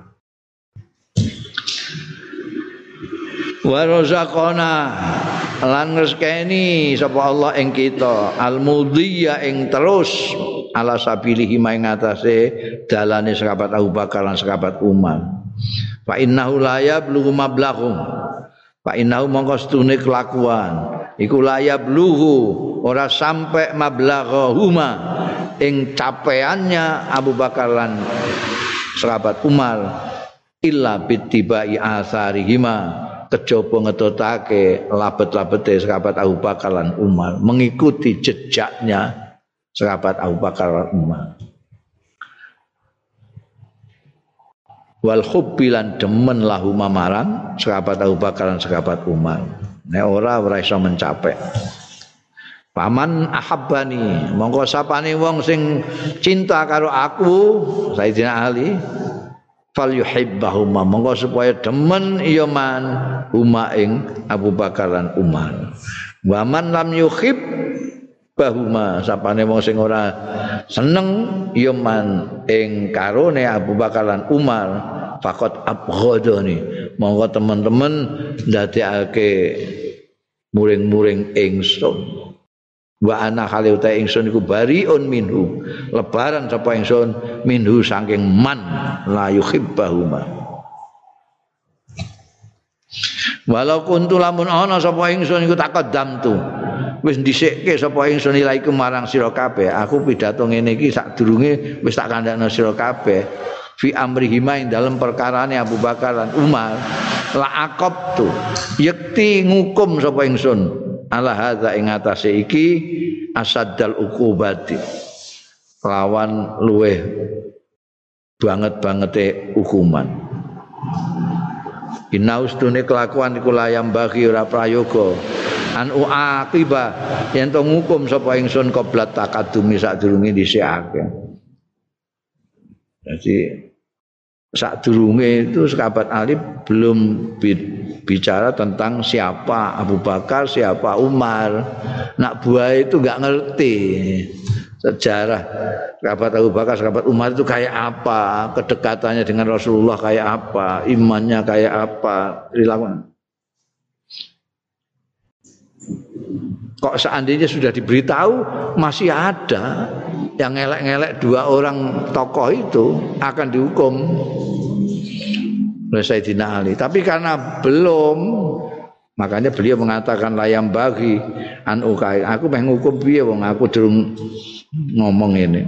Wa razaqana lan rezekeni sapa Allah ing kita al-mudhiya ing terus ala sabilihi ing atase dalane sahabat Abu Bakar lan sahabat Umar. Fa innahu la yablughu mablaghum. Fa innahu mongko stune kelakuan iku la yablughu ora sampai mablaghahuma ing capeannya Abu Bakar lan sahabat Umar illa bittibai asarihima kejaba ngetutake labet-labete sahabat Abu Bakar lan Umar mengikuti jejaknya sahabat Abu Bakar lan Umar. Wal hubbilan demen lahu marang sahabat Abu Bakar lan sahabat Umar. Nek ora ora iso mencapai. Paman ahabbani mongko sapane wong sing cinta karo aku Sayyidina Ali fal yuhibbahuma monggo supaya demen iya man huma ing Abu Bakar lan Umar. Wa man lam yuhib bahuma sapane wong sing ora seneng iya man ing karone Abu Bakar lan Umar faqat abghadani monggo teman-teman ndadekake muring-muring ingsun. Wa ana khali uta ingsun iku bariun minhu lebaran sapa ingsun minhu saking man la yuhibbahuma. Walau kuntu lamun ana sapa ingsun iku taqaddamtu wis ndhisikke sapa ingsun ilaiku marang sira kabeh aku pidato ngene iki sadurunge wis tak kandhakno sira kabeh fi amrihima ing dalem perkarane Abu Bakar lan Umar la aqabtu yakti ngukum sapa ingsun ala hadza ing atase iki asaddal uqubati lawan luweh banget-bangete hukuman. Inaustune kelakuan iku layam bagi ora prayoga an uaqiba yen to ngukum sapa ingsun qoblat takadumi sadurunge dhisikake. Jadi sadurunge itu sahabat Ali belum bicara tentang siapa Abu Bakar, siapa Umar. Nak buah itu enggak ngerti sejarah sahabat Abu Bakar, sahabat Umar itu kayak apa, kedekatannya dengan Rasulullah kayak apa, imannya kayak apa, dilakukan. Kok seandainya sudah diberitahu masih ada yang ngelek-ngelek dua orang tokoh itu akan dihukum oleh Sayyidina Ali. Tapi karena belum, makanya beliau mengatakan layam bagi an ukai. Aku pengen hukum piye wong aku durung ngomong ini.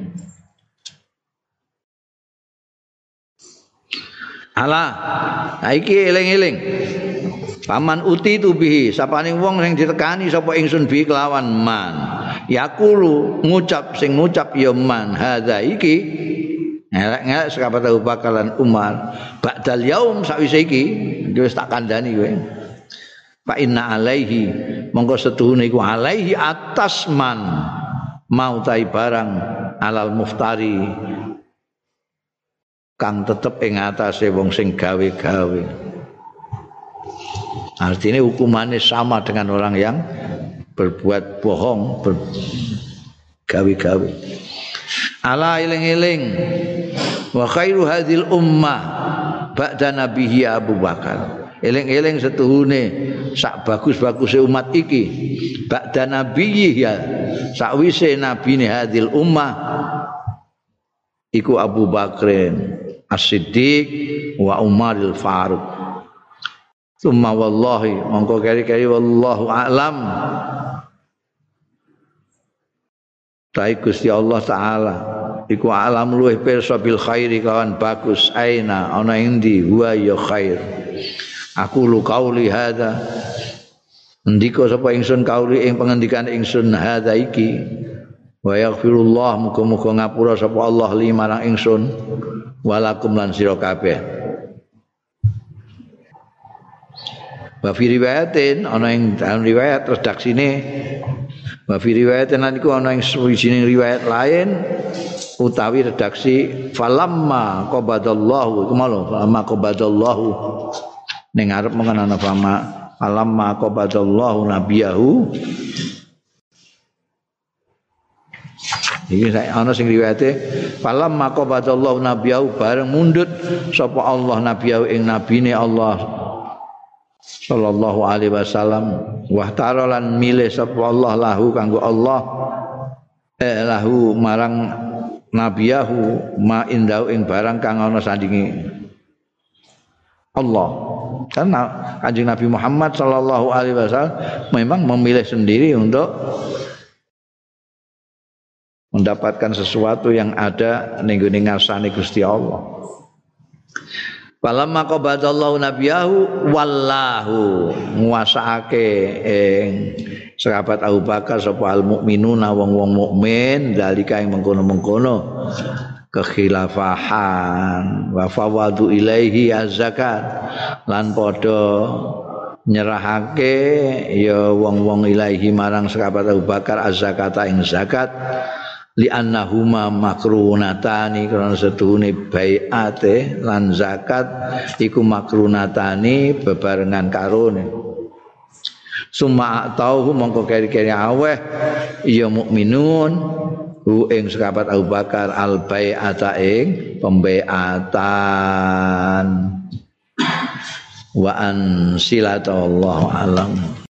Alah, iki eling-eling. Paman uti tu bihi, sapane wong sing ditekani sapa ingsun bi kelawan man. Yaqulu ngucap sing ngucap ya man hadza iki ngelek-ngelek sahabat Abu Bakar lan Umar ba'dal yaum sakwise iki wis tak kandhani kowe. Fa inna alaihi monggo setuhune iku alaihi atas man mau tai barang alal muftari kang tetep ing atase wong sing gawe-gawe. Artinya hukumannya sama dengan orang yang berbuat bohong, bergawe-gawe. Ala iling-iling wa khairu hadhil ummah ba'da nabihi Abu Bakar. Iling-iling setuhune sak bagus-baguse umat iki ba'da nabihi ya sakwise nabine hadhil ummah iku Abu Bakrin As-Siddiq wa Umaril Faruq. Summa wallahi mongko keri-keri wallahu a'lam. Tai Gusti Allah taala iku alam luweh pirsa bil khairi kawan bagus aina ana endi huwa ya khair. Aku lu qauli hadza ndika sapa ingsun kauli ing pengendikan ingsun hadza iki Wa yaghfirullah muga-muga ngapura sapa Allah li marang ingsun walakum lan sira kabeh. Wa fi riwayatin ana ing dalam riwayat redaksine wa fi riwayatin lan iku ana ing sawijining riwayat lain utawi redaksi falamma qabadallahu iku malu falamma qabadallahu ning arep mengko ana fama falamma qabadallahu nabiyahu. Iki ana sing riwayate falamma qabadallahu nabiyahu bareng mundut sapa Allah nabiyahu ing nabine Allah sallallahu alaihi wasallam wa tarolan milih sapa Allah lahu kanggo Allah eh lahu marang nabiyahu ma indau ing barang kang ana sandinge Allah. Karena Kanjeng Nabi Muhammad sallallahu alaihi wasallam memang memilih sendiri untuk mendapatkan sesuatu yang ada ning gone ngarsane Gusti Allah. Falamma qabadallahu nabiyahu wallahu nguasaake ing sahabat Abu Bakar sapa al mukminuna wong-wong mukmin dalika ing mengkono-mengkono kekhilafahan wa fawadu ilaihi az-zakat lan padha nyerahake ya wong-wong ilaihi marang sahabat Abu Bakar az-zakata ing zakat li annahuma makrunatani karena setuhune baiate lan zakat iku makrunatani bebarengan karone summa tauhu mongko keri-keri aweh ya mukminun hu ing sahabat Abu Bakar al bai'ata ing pembaiatan wa an silatallahu alam.